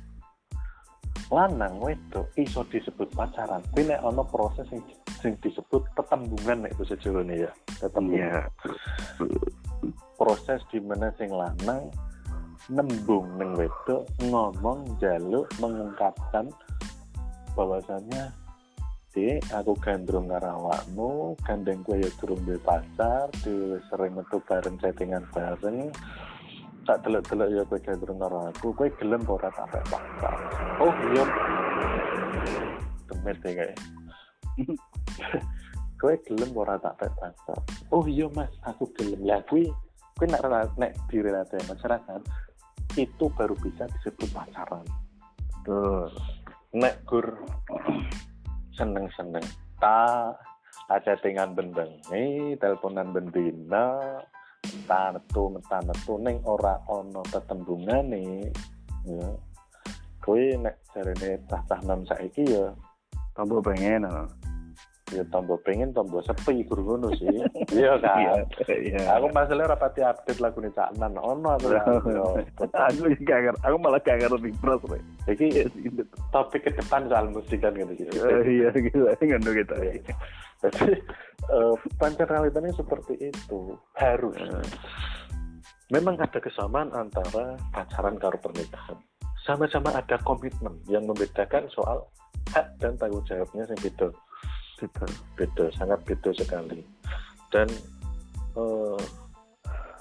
lanang wedok iso disebut pacaran. Kuwi nek ana proses sing sing disebut tetembungan nek basa Jawane ya. Tetembungan. Yeah. Proses di mana sing lanang nembung ning wedok ngomong njaluk mengungkapkan bahwasannya Dik, aku gandrung karo awakmu, gandeng kowe ya durung duwe pacar, dhewe sering metu bareng chattingan bareng. Tak delok-delok ya kowe gandrung karo aku, kowe gelem ora tak pacar. Oh iya. Temet e kae. Kowe gelem ora tak pacar. Oh iya Mas, aku gelem. Lah kuwi kuwi nek nek direlate masyarakat itu baru bisa disebut pacaran. Tuh. Nek gur seneng-seneng ta chattingan bendengi, teleponan bendina, tartu metu ning ora ana tetembungane ya. Kowe nek jarene cah-cah nom saiki ya tambah pengen ya tambah pengen tambah sepi guru ngono sih. Iya kan. Iya. Aku masalah ora pati update lagune Cak Nan ono aku. Aku gak ngerti. Aku malah gak ngerti terus kowe. Iki topik ke depan soal musik kan gitu. Iya gitu. Ngono gitu. Jadi uh, pancen realitanya seperti itu. Harus. Memang ada kesamaan antara pacaran karo pernikahan. Sama-sama ada komitmen yang membedakan soal hak dan tanggung jawabnya yang beda. Beda, beda, sangat beda sekali. Dan uh,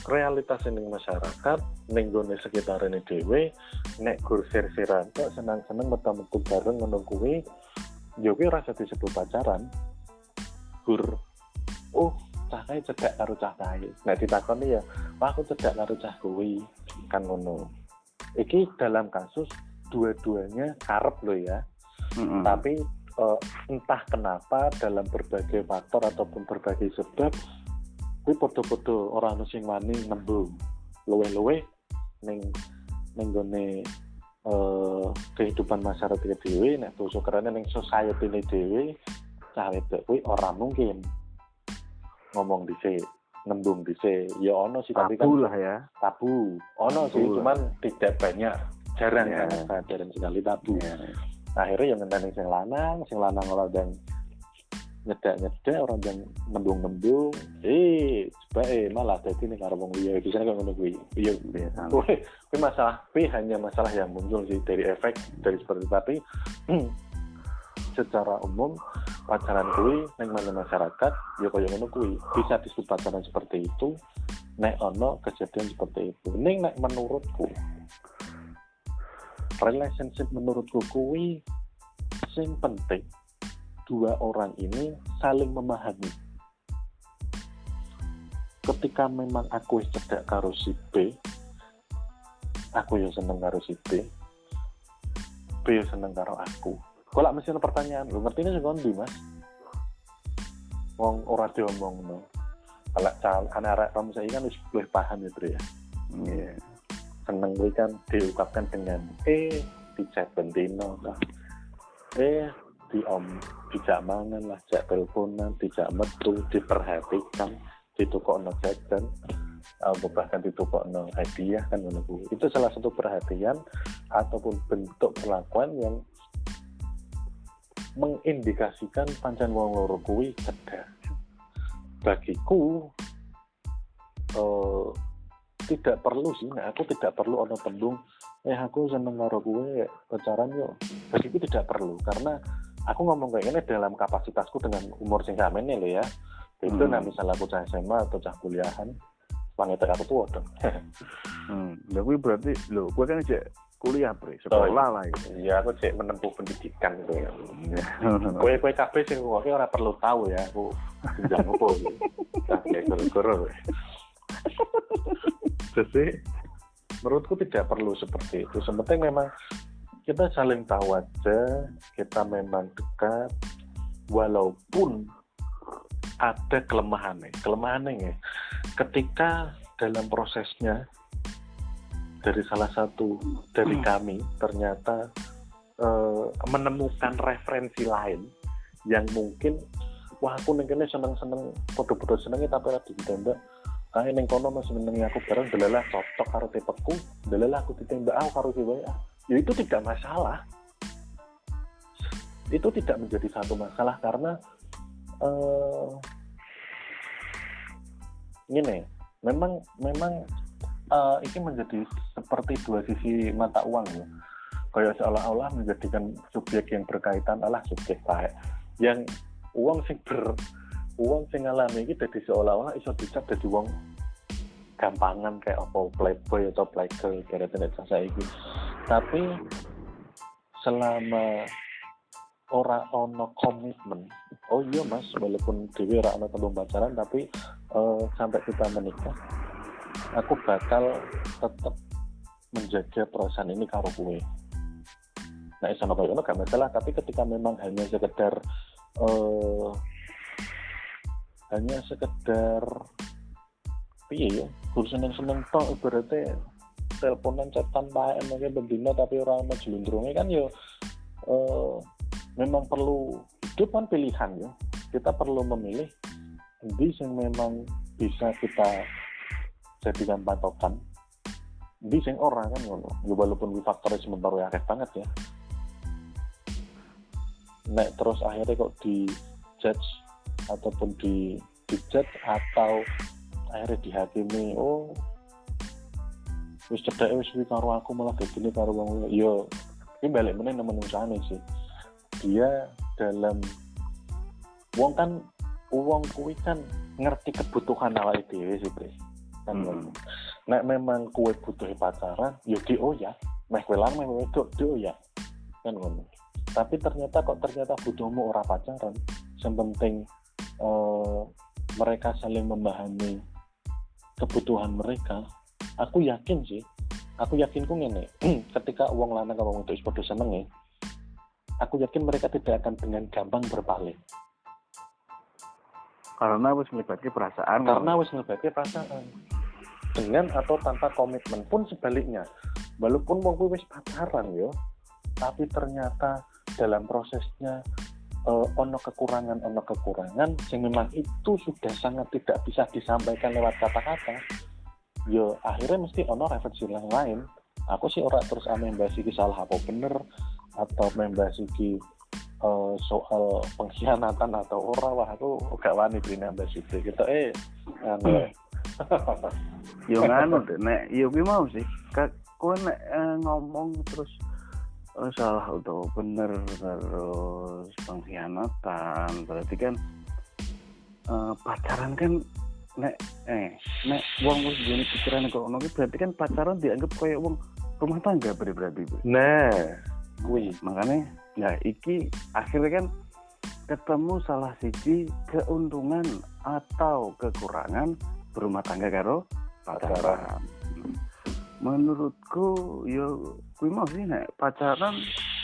realitas ning masyarakat ning gone sekitarane dhewe nek gur sir-siran kok senang-senang metu-metu bareng ngono kuwi ya kuwi rasa disebut pacaran. Gur oh cah kae cedak karo cah kae. Nek ditakoni ya, "Wah, aku cedak karo cah kuwi." Kan ngono. Iki dalam kasus dua-duanya karep lo ya. Mm-hmm. Tapi uh, entah kenapa dalam berbagai faktor ataupun berbagai sebab kuwi padha-padha ora ono sing wani nembung. Luwe-luwe ning ning gone uh, kehidupan masyarakat dhewe nek basa kerane ning society dhewe cah wedok kuwi ora mungkin ngomong dhisik, nembung dhisik. Ya ono sih tapi kan tabu lah ya. Tabu. Ono sih cuman tidak banyak, jarang yeah. kan, jarang sekali tabu. Yeah. Akhirnya yang ngenteni sing lanang, sing lanang ora dan nyedak-nyedak orang yang nembung-nembung, eh coba eh malah dadi ning karo wong liya bisa kok ngono kuwi. Iya biasa. Kuwi masalah, kuwi hanya masalah yang muncul sih dari efek dari seperti tapi secara umum pacaran kuwi ning mana masyarakat ya kaya ngono kuwi bisa disebut pacaran seperti itu nek ono kejadian seperti itu. Ning nek menurutku relationship menurutku kuwi sing penting dua orang ini saling memahami. Ketika memang aku wis cedak karo si B, aku yo seneng karo si B, B yo seneng karo aku. Kok lak mesti ana pertanyaan, lho ngertine sing kondi, Mas? Wong ora diomongno. Kalau anak-anak kamu saya kan wis luwih paham ya, Bro ya. Iya. Seneng kuwi kan diungkapkan dengan eh dicek bendino lah. Eh di om dijak mangan lah, jak teleponan, dijak metu, diperhatikan, ditukokno jajan, atau bahkan ditukokno hadiah kan ngono kuwi. Itu salah satu perhatian ataupun bentuk perlakuan yang mengindikasikan pancen wong loro kuwi cedak. Bagiku uh, tidak perlu sih, nah aku tidak perlu ono tembung eh aku seneng karo kowe pacaran yo. Bagiku tidak perlu karena aku ngomong kayak gini dalam kapasitasku dengan umur sing kamene lho ya. Itu hmm. nah misalnya aku cah S M A atau cah kuliahan, wanita aku tua dong. hmm, lha kuwi berarti lho, kowe kan cek kuliah, Bre, sekolah oh, lah itu. Iya, aku cek menempuh pendidikan gitu ya. Kowe kowe kabeh sing kowe ora perlu tahu ya, aku jenjang opo iki. Nah, kayak goro-goro. Jadi menurutku tidak perlu seperti itu. Sepenting memang kita saling tahu aja, kita memang dekat, walaupun ada kelemahannya. Kelemahannya ketika dalam prosesnya dari salah satu dari kami ternyata uh, menemukan referensi lain yang mungkin wah aku nengkene seneng-seneng podo-podo senengnya tapi ora ditembak. Ah ning kono masih senengi aku bareng delalah cocok karo tipeku, delalah aku ditembak ah karo siwe ah. Ya itu tidak masalah. Itu tidak menjadi satu masalah karena uh, ini memang memang uh, ini menjadi seperti dua sisi mata uang ya. Kayak seolah-olah menjadikan subjek yang berkaitan adalah subjek baik. Yang uang sing ber uang sing ngalami iki dadi seolah-olah iso dicap dadi wong gampangan kayak apa playboy atau playgirl kira-kira saiki. Tapi selama ora ono komitmen, oh iya Mas, walaupun dhewe ora ono tembung pacaran tapi uh, sampai kita menikah, aku bakal tetap menjaga perasaan ini karo kowe. Nah, iso napa ngono gak masalah, tapi ketika memang hanya sekedar uh, hanya sekedar piye ya, kudu seneng-seneng tok ibaratnya teleponan chatan bae emangnya bendina tapi ora ono jlundrunge kan ya uh, memang perlu hidup kan pilihan ya. Kita perlu memilih endi sing memang bisa kita jadikan patokan, endi sing ora kan ngono. Ya walaupun di faktornya sementara akeh banget ya. Nek terus akhirnya kok di judge ataupun di di judge atau akhirnya dihakimi oh wis cedake wis kuwi karo aku malah begini karo wong yo iki balik meneh nang menungsane sih dia dalam wong kan wong kuwi kan ngerti kebutuhan awake dhewe sih Bre kan. Hmm. Nek memang kue butuh pacaran yo di oh ya meh kowe lang meh wedok di oh ya kan ngono. Tapi ternyata kok ternyata butuhmu ora pacaran, yang penting eh, mereka saling memahami kebutuhan mereka. Aku yakin sih, aku yakin ku ngene, ketika wong lanang karo wong wedok wis padha seneng ya, aku yakin mereka tidak akan dengan gampang berpaling. Karena wis melibatkan perasaan. Karena wis melibatkan perasaan. Dengan atau tanpa komitmen pun sebaliknya. Walaupun wong kuwi wis pacaran yo, tapi ternyata dalam prosesnya uh, ono kekurangan ono kekurangan yang memang itu sudah sangat tidak bisa disampaikan lewat kata-kata. Yo akhirnya mesti ono referensi yang lain. Aku sih ora terus ame mbahas iki salah apa bener atau membahas iki Uh, soal pengkhianatan atau ora, wah aku gak wani dene mbak Siti kita eh anu yo nganu deh nek yo kuwi mau sih kowe nek eh, ngomong terus eh, salah atau bener terus pengkhianatan berarti kan eh, pacaran kan nek eh nek wong wis duwe pikiran kok ngono berarti kan pacaran dianggap kayak wong rumah tangga berarti. Nah kuwi makanya nah iki akhirnya kan ketemu salah siji keuntungan atau kekurangan berumah tangga karo pacaran. Menurutku yo kuwi mau sih nek pacaran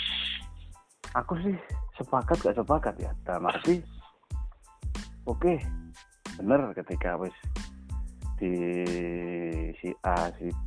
aku sih sepakat gak sepakat ya. Dalam arti oke okay, bener ketika wis di si A si B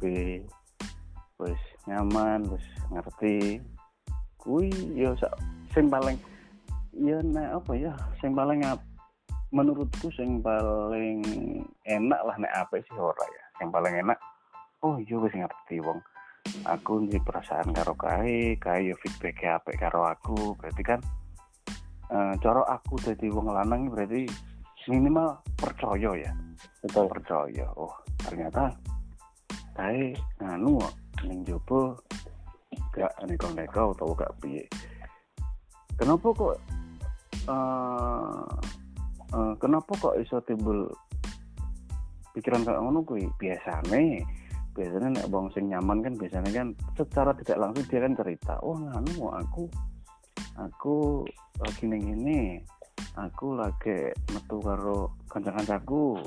wis nyaman wis ngerti kuwi yo sing paling ya nek apa ya sing paling menurutku sing paling enak lah nek apa sih ora ya sing paling enak oh yo wis ngerti wong aku ndi perasaan karo kae kae yo feedback apik karo aku berarti kan eh cara aku dadi wong lanang berarti minimal percaya ya betul percaya oh ternyata kae nganu ning jopo gak neko-neko atau gak piye. Kenapa kok uh, uh, kenapa kok iso timbul pikiran kayak ngono kuwi? Biasane biasanya nek wong sing nyaman kan biasanya kan secara tidak langsung dia kan cerita, "Oh, nganu aku aku lagi ning ngene. Aku lagi metu karo kanca-kancaku."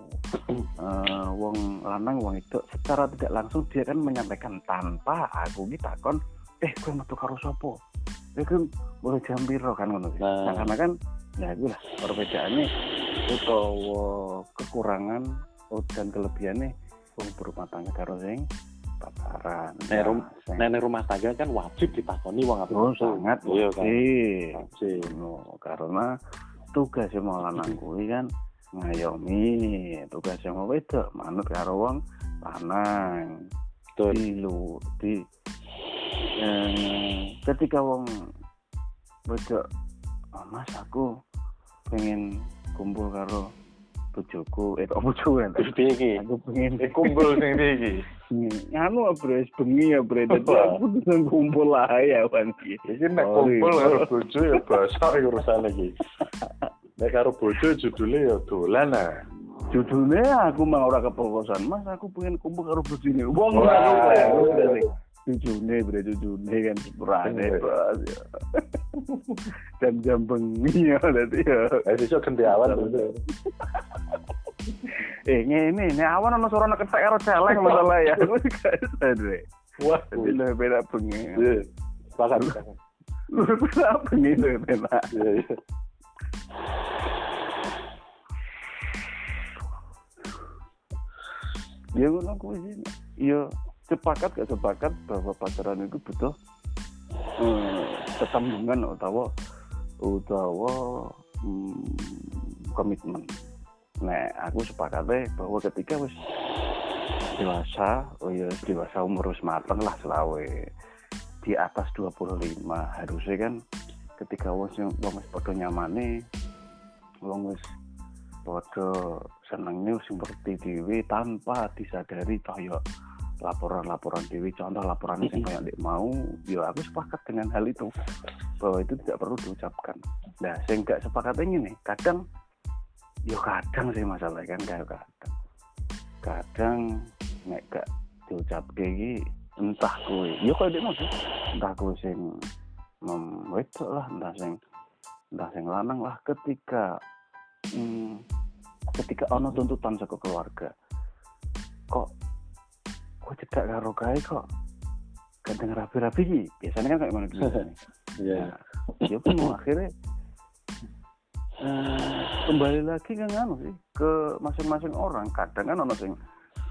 Uh, wong lanang wong itu secara tidak langsung dia kan menyampaikan tanpa aku ki takon eh kowe metu karo sapa ya kan boleh jam piro kan ngono nah. Nah karena kan ya iku lah perbedaannya utawa kekurangan dan kelebihannya wong berumah tangga karo sing pacaran nek rum, nah, rumah tangga kan wajib ditakoni wong apa oh, sangat iya kan wajib no, karena tugas wong lanang kuwi kan ngayomi tugas yang mau wedok manut karo wong lanang di lu di eh, ketika wong wedok oh, mas aku pengen kumpul karo bojoku eh kok bojoku kan iki aku pengen eh, kumpul sing iki anu bres bengi ya bre dadi aku pengen kumpul lah ya wan iki iki nek kumpul karo bojo ya basa urusan iki. Nek karo bojo judulnya ya dolan ah. Judulnya aku mau ora kepokosan, Mas aku pengen kumpul karo bojone. Wong ngono dari judulnya bre judulnya kan berane bos ya. Jam-jam bengi ya dadi ya. Eh iso ganti awan lho. Eh ngene nek awan ana suara ketek karo celeng masalah ya. Aku gak sadar. Wah, dadi lho beda bengi. Sepakat. Lu beda bengi lho beda. Iya. Ya ngono kuwi sih. Ya sepakat gak sepakat bahwa pacaran itu butuh hmm, ketembungan utawa utawa hmm, komitmen. Nah, aku sepakatnya bahwa ketika wis dewasa, oh ya dewasa umur wis mateng lah selawe di atas dua puluh lima harusnya kan ketika wong wong wis padha nyamane wong wis padha senenge sing ngerti dhewe tanpa disadari toh ya laporan-laporan dhewe contoh laporan sing kayak ndek mau ya aku sepakat dengan hal itu bahwa itu tidak perlu diucapkan. Nah, sing gak sepakat ngene kadang ya kadang sih masalah kan kayak kadang kadang nek gak diucapke iki entah kowe ya koyo dene sih entah kowe sing mem wedok lah entah sing entah sing lanang lah ketika hmm, ketika ono tuntutan saka keluarga kok kok cedak karo gawe kok kadang rapi-rapi iki biasanya kan kayak mana gitu Iya. Ya pun akhirnya eh, kembali lagi kan anu sih ke masing-masing orang kadang kan ono sing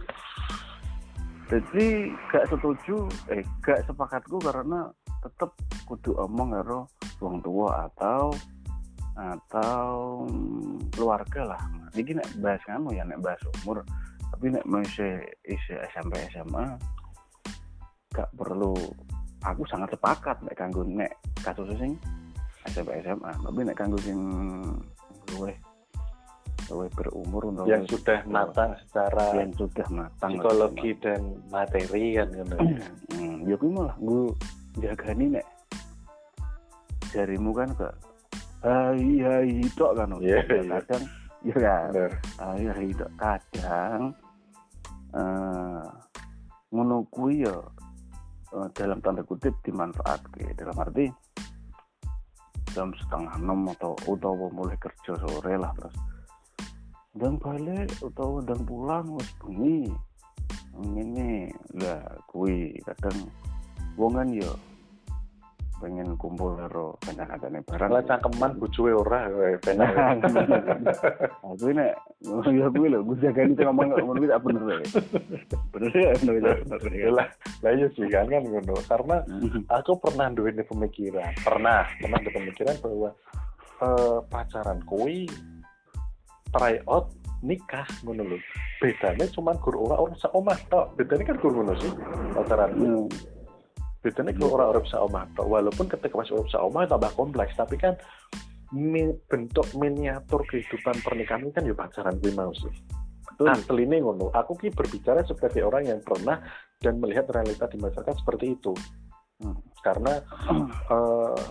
jadi gak setuju eh gak sepakatku karena tetep kudu omong karo wong tua atau atau hmm, keluarga lah. Iki nek bahas anu ya nek bahas umur tapi nek masih isi S M P S M A gak perlu aku sangat sepakat nek kanggo nek kasus sing S M P S M A tapi nek kanggo sing luwih luwih berumur untuk yang sudah matang secara yang sudah matang psikologi lah, dan materi kan ngono. Hmm, ya kuwi malah nggo jagani nek jarimu kan kok hai hai tok kan yeah, kadang ya kan hai hai tok kadang eh ngono kuwi ya dalam tanda kutip dimanfaatke dalam arti jam setengah enam atau utawa mulai kerja sore lah terus dan balik utawa dan pulang wis bengi ngene lah kuwi kadang wong kan ya pengen kumpul karo kanca-kancane barang lah cangkeman bojoe ora penak aku nek ya kuwi lho gue jagani ngomong ngono kuwi tak bener ya bener ya bener lah lah iya sih kan kan ngono karena aku pernah duwe pemikiran pernah pernah ada pemikiran bahwa eh, pacaran kuwi try out nikah ngono lho bedanya cuma gur ora ora seomah tok bedanya kan gur ngono sih pacaran hmm. Bedanya kalau orang-orang bisa omah tok walaupun ketika masih orang bisa omah tambah kompleks tapi kan mi, bentuk miniatur kehidupan pernikahan kan ya pacaran kuwi mau sih asline ngono aku ki berbicara sebagai orang yang pernah dan melihat realita di masyarakat seperti itu hmm. karena hmm. Uh,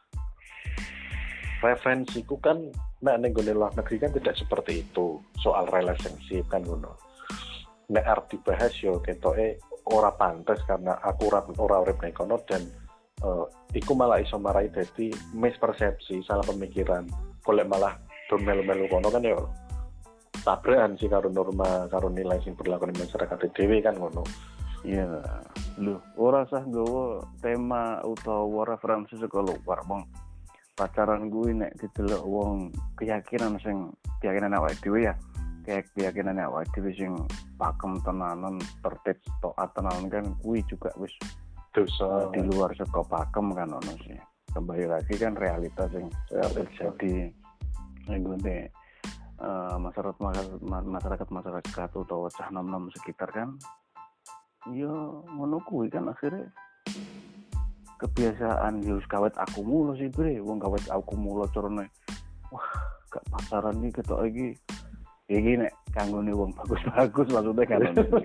referensiku kan nek ning gone luar negeri kan tidak seperti itu soal relationship kan ngono nek arep dibahas yo ketoke ora pantes karena aku ora ora urip ning kono dan uh, iku malah iso marai dadi mispersepsi salah pemikiran golek malah do melu-melu kono kan yo tabrakan sih karo norma karo nilai sing berlaku di masyarakat dhewe kan ngono iya lho ora usah nggawa tema utawa referensi saka luar bang pacaran gue nek didelok wong keyakinan sing keyakinan awake dhewe ya kayak keyakinan awake dhewe sing pakem tenanan tertib taat tenanan kan kuwi juga wis dosa di luar saka pakem kan ono sih kembali lagi kan realitas yang terjadi ning gone uh, masyarakat masyarakat masyarakat utawa cah nom-nom sekitar kan ya ngono kuwi kan akhirnya kebiasaan yo kawet aku mulu sih bre wong kawet aku mulu carane wah gak pacaran iki ketok iki iki nek kanggone wong bagus-bagus maksudnya kan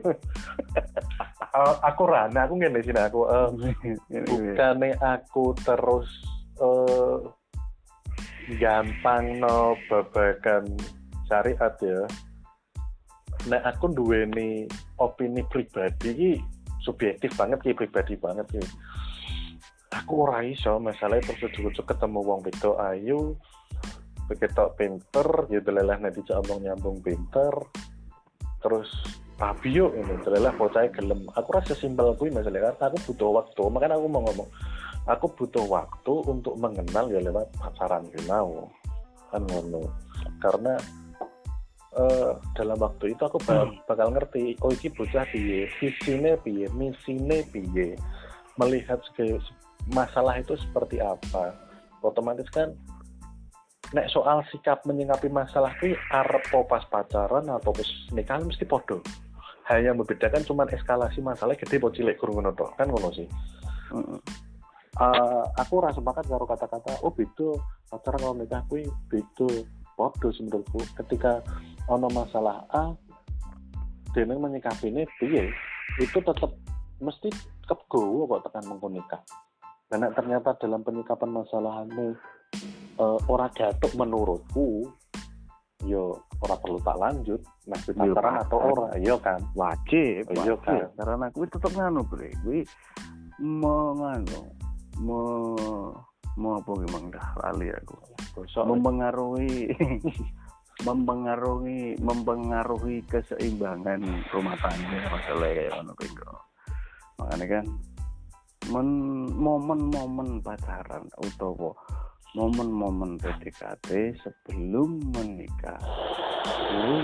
aku rana aku ngene sih aku uh, bukane aku terus uh, gampang no babagan syariat ya nek aku duweni opini pribadi iki subjektif banget ki pribadi banget ki aku ora iso masalah terus ujuk-ujuk ketemu wong wedok ayu begitu pinter ya delelah nanti omong nyambung pinter terus tapi yuk ini delelah bocah gelem aku rasa simpel kuwi masalah karena aku butuh waktu makanya aku mau ngomong aku butuh waktu untuk mengenal ya lewat pacaran mau kan ngono karena uh, dalam waktu itu aku bakal, bakal ngerti oh iki bocah piye visine piye misine piye melihat segala masalah itu seperti apa otomatis kan nek soal sikap menyikapi masalah itu arep pas pacaran atau pas nikah mesti podo hanya membedakan cuma eskalasi masalah gede po cilik kurang ngono tok kan ngono sih mm-hmm. uh, aku rasa sepakat karo kata-kata oh beda pacaran kalau nikah kuwi beda podo menurutku ketika ono masalah A dene menyikapinya piye itu tetap mesti kegowo kok tekan mengko nikah karena ternyata dalam penyikapan masalah ini uh, orang jatuh menurutku yo ora perlu tak lanjut nek pacaran atau ora, iya kan? Wajib, iya kan? Karena kuwi tetep nganu, Bre. Kuwi menganu, me mau apa gimana dah lali aku. Gosok mempengaruhi mempengaruhi mempengaruhi keseimbangan rumah tangga masalah kayak ngono kuwi. Makanya kan men, momen-momen pacaran utawa momen-momen P D K T sebelum menikah itu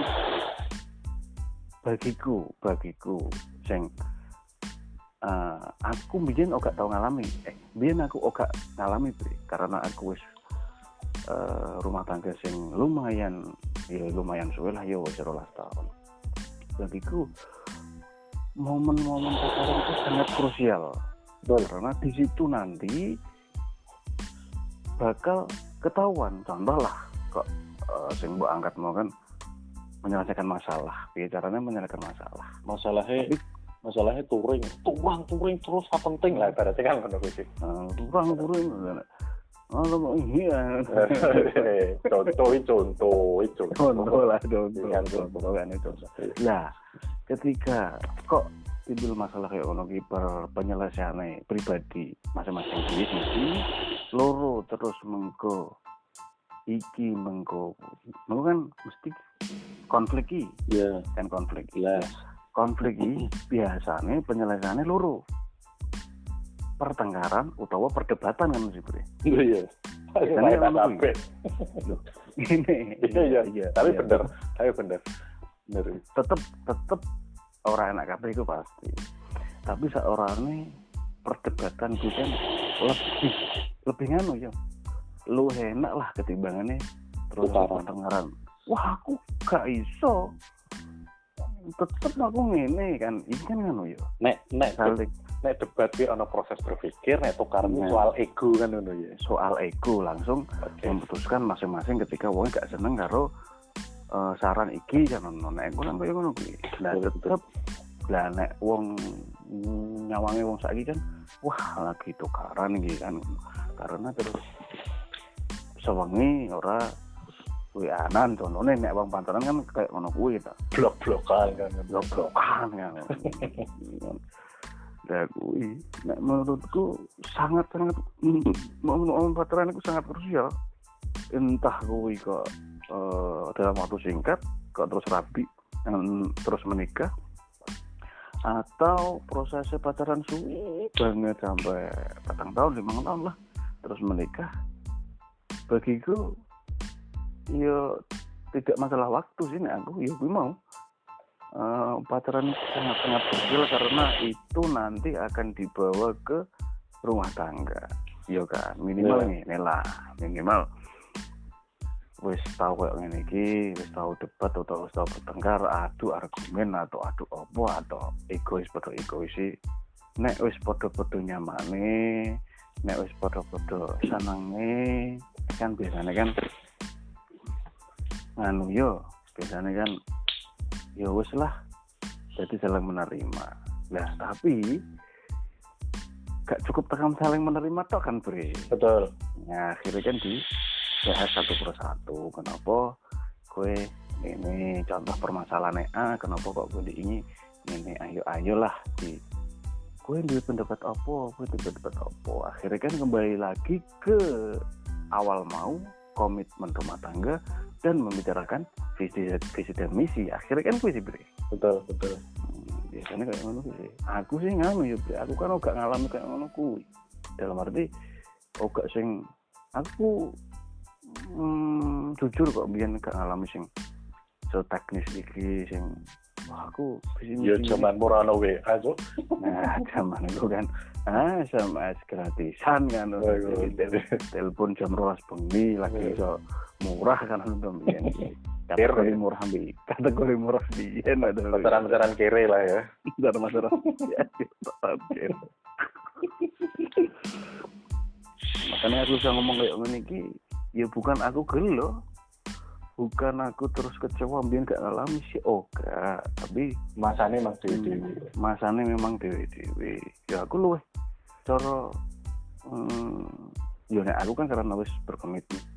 bagiku bagiku sing uh, aku biyen ora tau ngalami eh biyen aku ora ngalami Bre, karena aku wis uh, rumah tangga sing lumayan ya lumayan suwe lah ya wis rolas tahun. Bagiku momen-momen pacaran itu sangat krusial. Betul, karena di situ nanti bakal ketahuan. Contoh lah kok uh, sing mbok angkat mau kan menyelesaikan masalah. Bicaranya menyelesaikan masalah. Masalahnya Tapi, masalahnya touring, turang touring terus apa penting lah ibaratnya kan ngono kuwi. Uh, turang touring. Oh, mau iya. Contoh contoh itu. Contoh lah contoh. Contoh kan itu. Nah, ketika kok timbul masalah kayak ono ki per penyelesaiane pribadi masing-masing diri loro terus mengko iki mengko mengko kan mesti konflik iki ya yeah. kan konflik yeah. konflik iki biasanya penyelesaiannya loro pertengkaran utawa perdebatan kan mesti Bre. Iya biasanya sampai ini iya iya tapi bener tapi bener bener tetep tetep orang enak kabeh itu pasti. Tapi seorang ini perdebatan itu kan lebih lebih nganu ya. Lu enak lah ketimbangannya terus pertengkaran. Wah, aku gak iso. Tetep aku ngene kan. Ini kan nganu ya. Nek nek saling nek debat ki ana proses berpikir, nek tukaran nah. soal ego kan ngono ya. Soal ego langsung okay. memutuskan masing-masing ketika wong gak seneng karo Uh, saran iki kan ono nek ngono kaya ngono kuwi. Lah tetep lah nek wong nyawange wong saiki kan wah lagi tukaran iki kan karena terus sewengi ora kuwi anan contone nek wong pantaran kan kayak ngono kuwi ta. Blok-blokan kan blok-blokan kan. Lah kuwi nek menurutku sangat sangat momen pacaran itu sangat krusial. Entah kuwi kok Uh, dalam waktu singkat kok terus rabi dan terus menikah atau prosesnya pacaran suwi banget sampai patang tahun lima tahun lah terus menikah bagiku ya tidak masalah waktu sih nih aku ya gue mau uh, pacaran sangat-sangat kecil karena itu nanti akan dibawa ke rumah tangga ya kan minimal yeah. nih lah minimal wis tau kayak ngene iki, wis tau debat atau wis tau bertengkar, adu argumen atau adu opo atau egois padha egois. Nek wis padha-padha nyamane, nek wis padha-padha senenge, kan biasanya kan nganu yo, biasanya kan ya wis lah. Jadi saling menerima. Nah, tapi gak cukup tekan saling menerima tok kan, Bre. Betul. Nah, akhirnya kan di bahas satu persatu. Kenapa gue ini contoh permasalahan A, kenapa kok gue ini ini ayo ayolah di gue di pendapat apa, gue di pendapat apa. Akhirnya kan kembali lagi ke awal mau komitmen rumah tangga dan membicarakan visi visi dan misi. Akhirnya kan gue sih Bre. Betul betul. Hmm, biasanya kayak ngono sih. Aku sih nganu ya Bre. Aku kan gak ngalami kayak ngono kuwi. Dalam arti gak sing aku Hmm, jujur kok biyen gak ngalami sing so teknis iki sing wah aku ya zaman murano W A kok. Nah, zaman itu kan ah S M S gratisan kan. Telepon jam dua belas bengi lagi iso murah kan untuk biyen. Kategori murah bi. Kategori murah biyen ada pacaran-pacaran kere lah ya. Pacaran-pacaran. Makanya aku bisa ngomong kayak ngene iki ya bukan aku gelo, bukan aku terus kecewa biar gak ngalami sih, oke, tapi masane memang dewe-dewe, masane memang dewe-dewe. Ya aku luweh cara, hmm, ya nek aku kan karena wis berkomitmen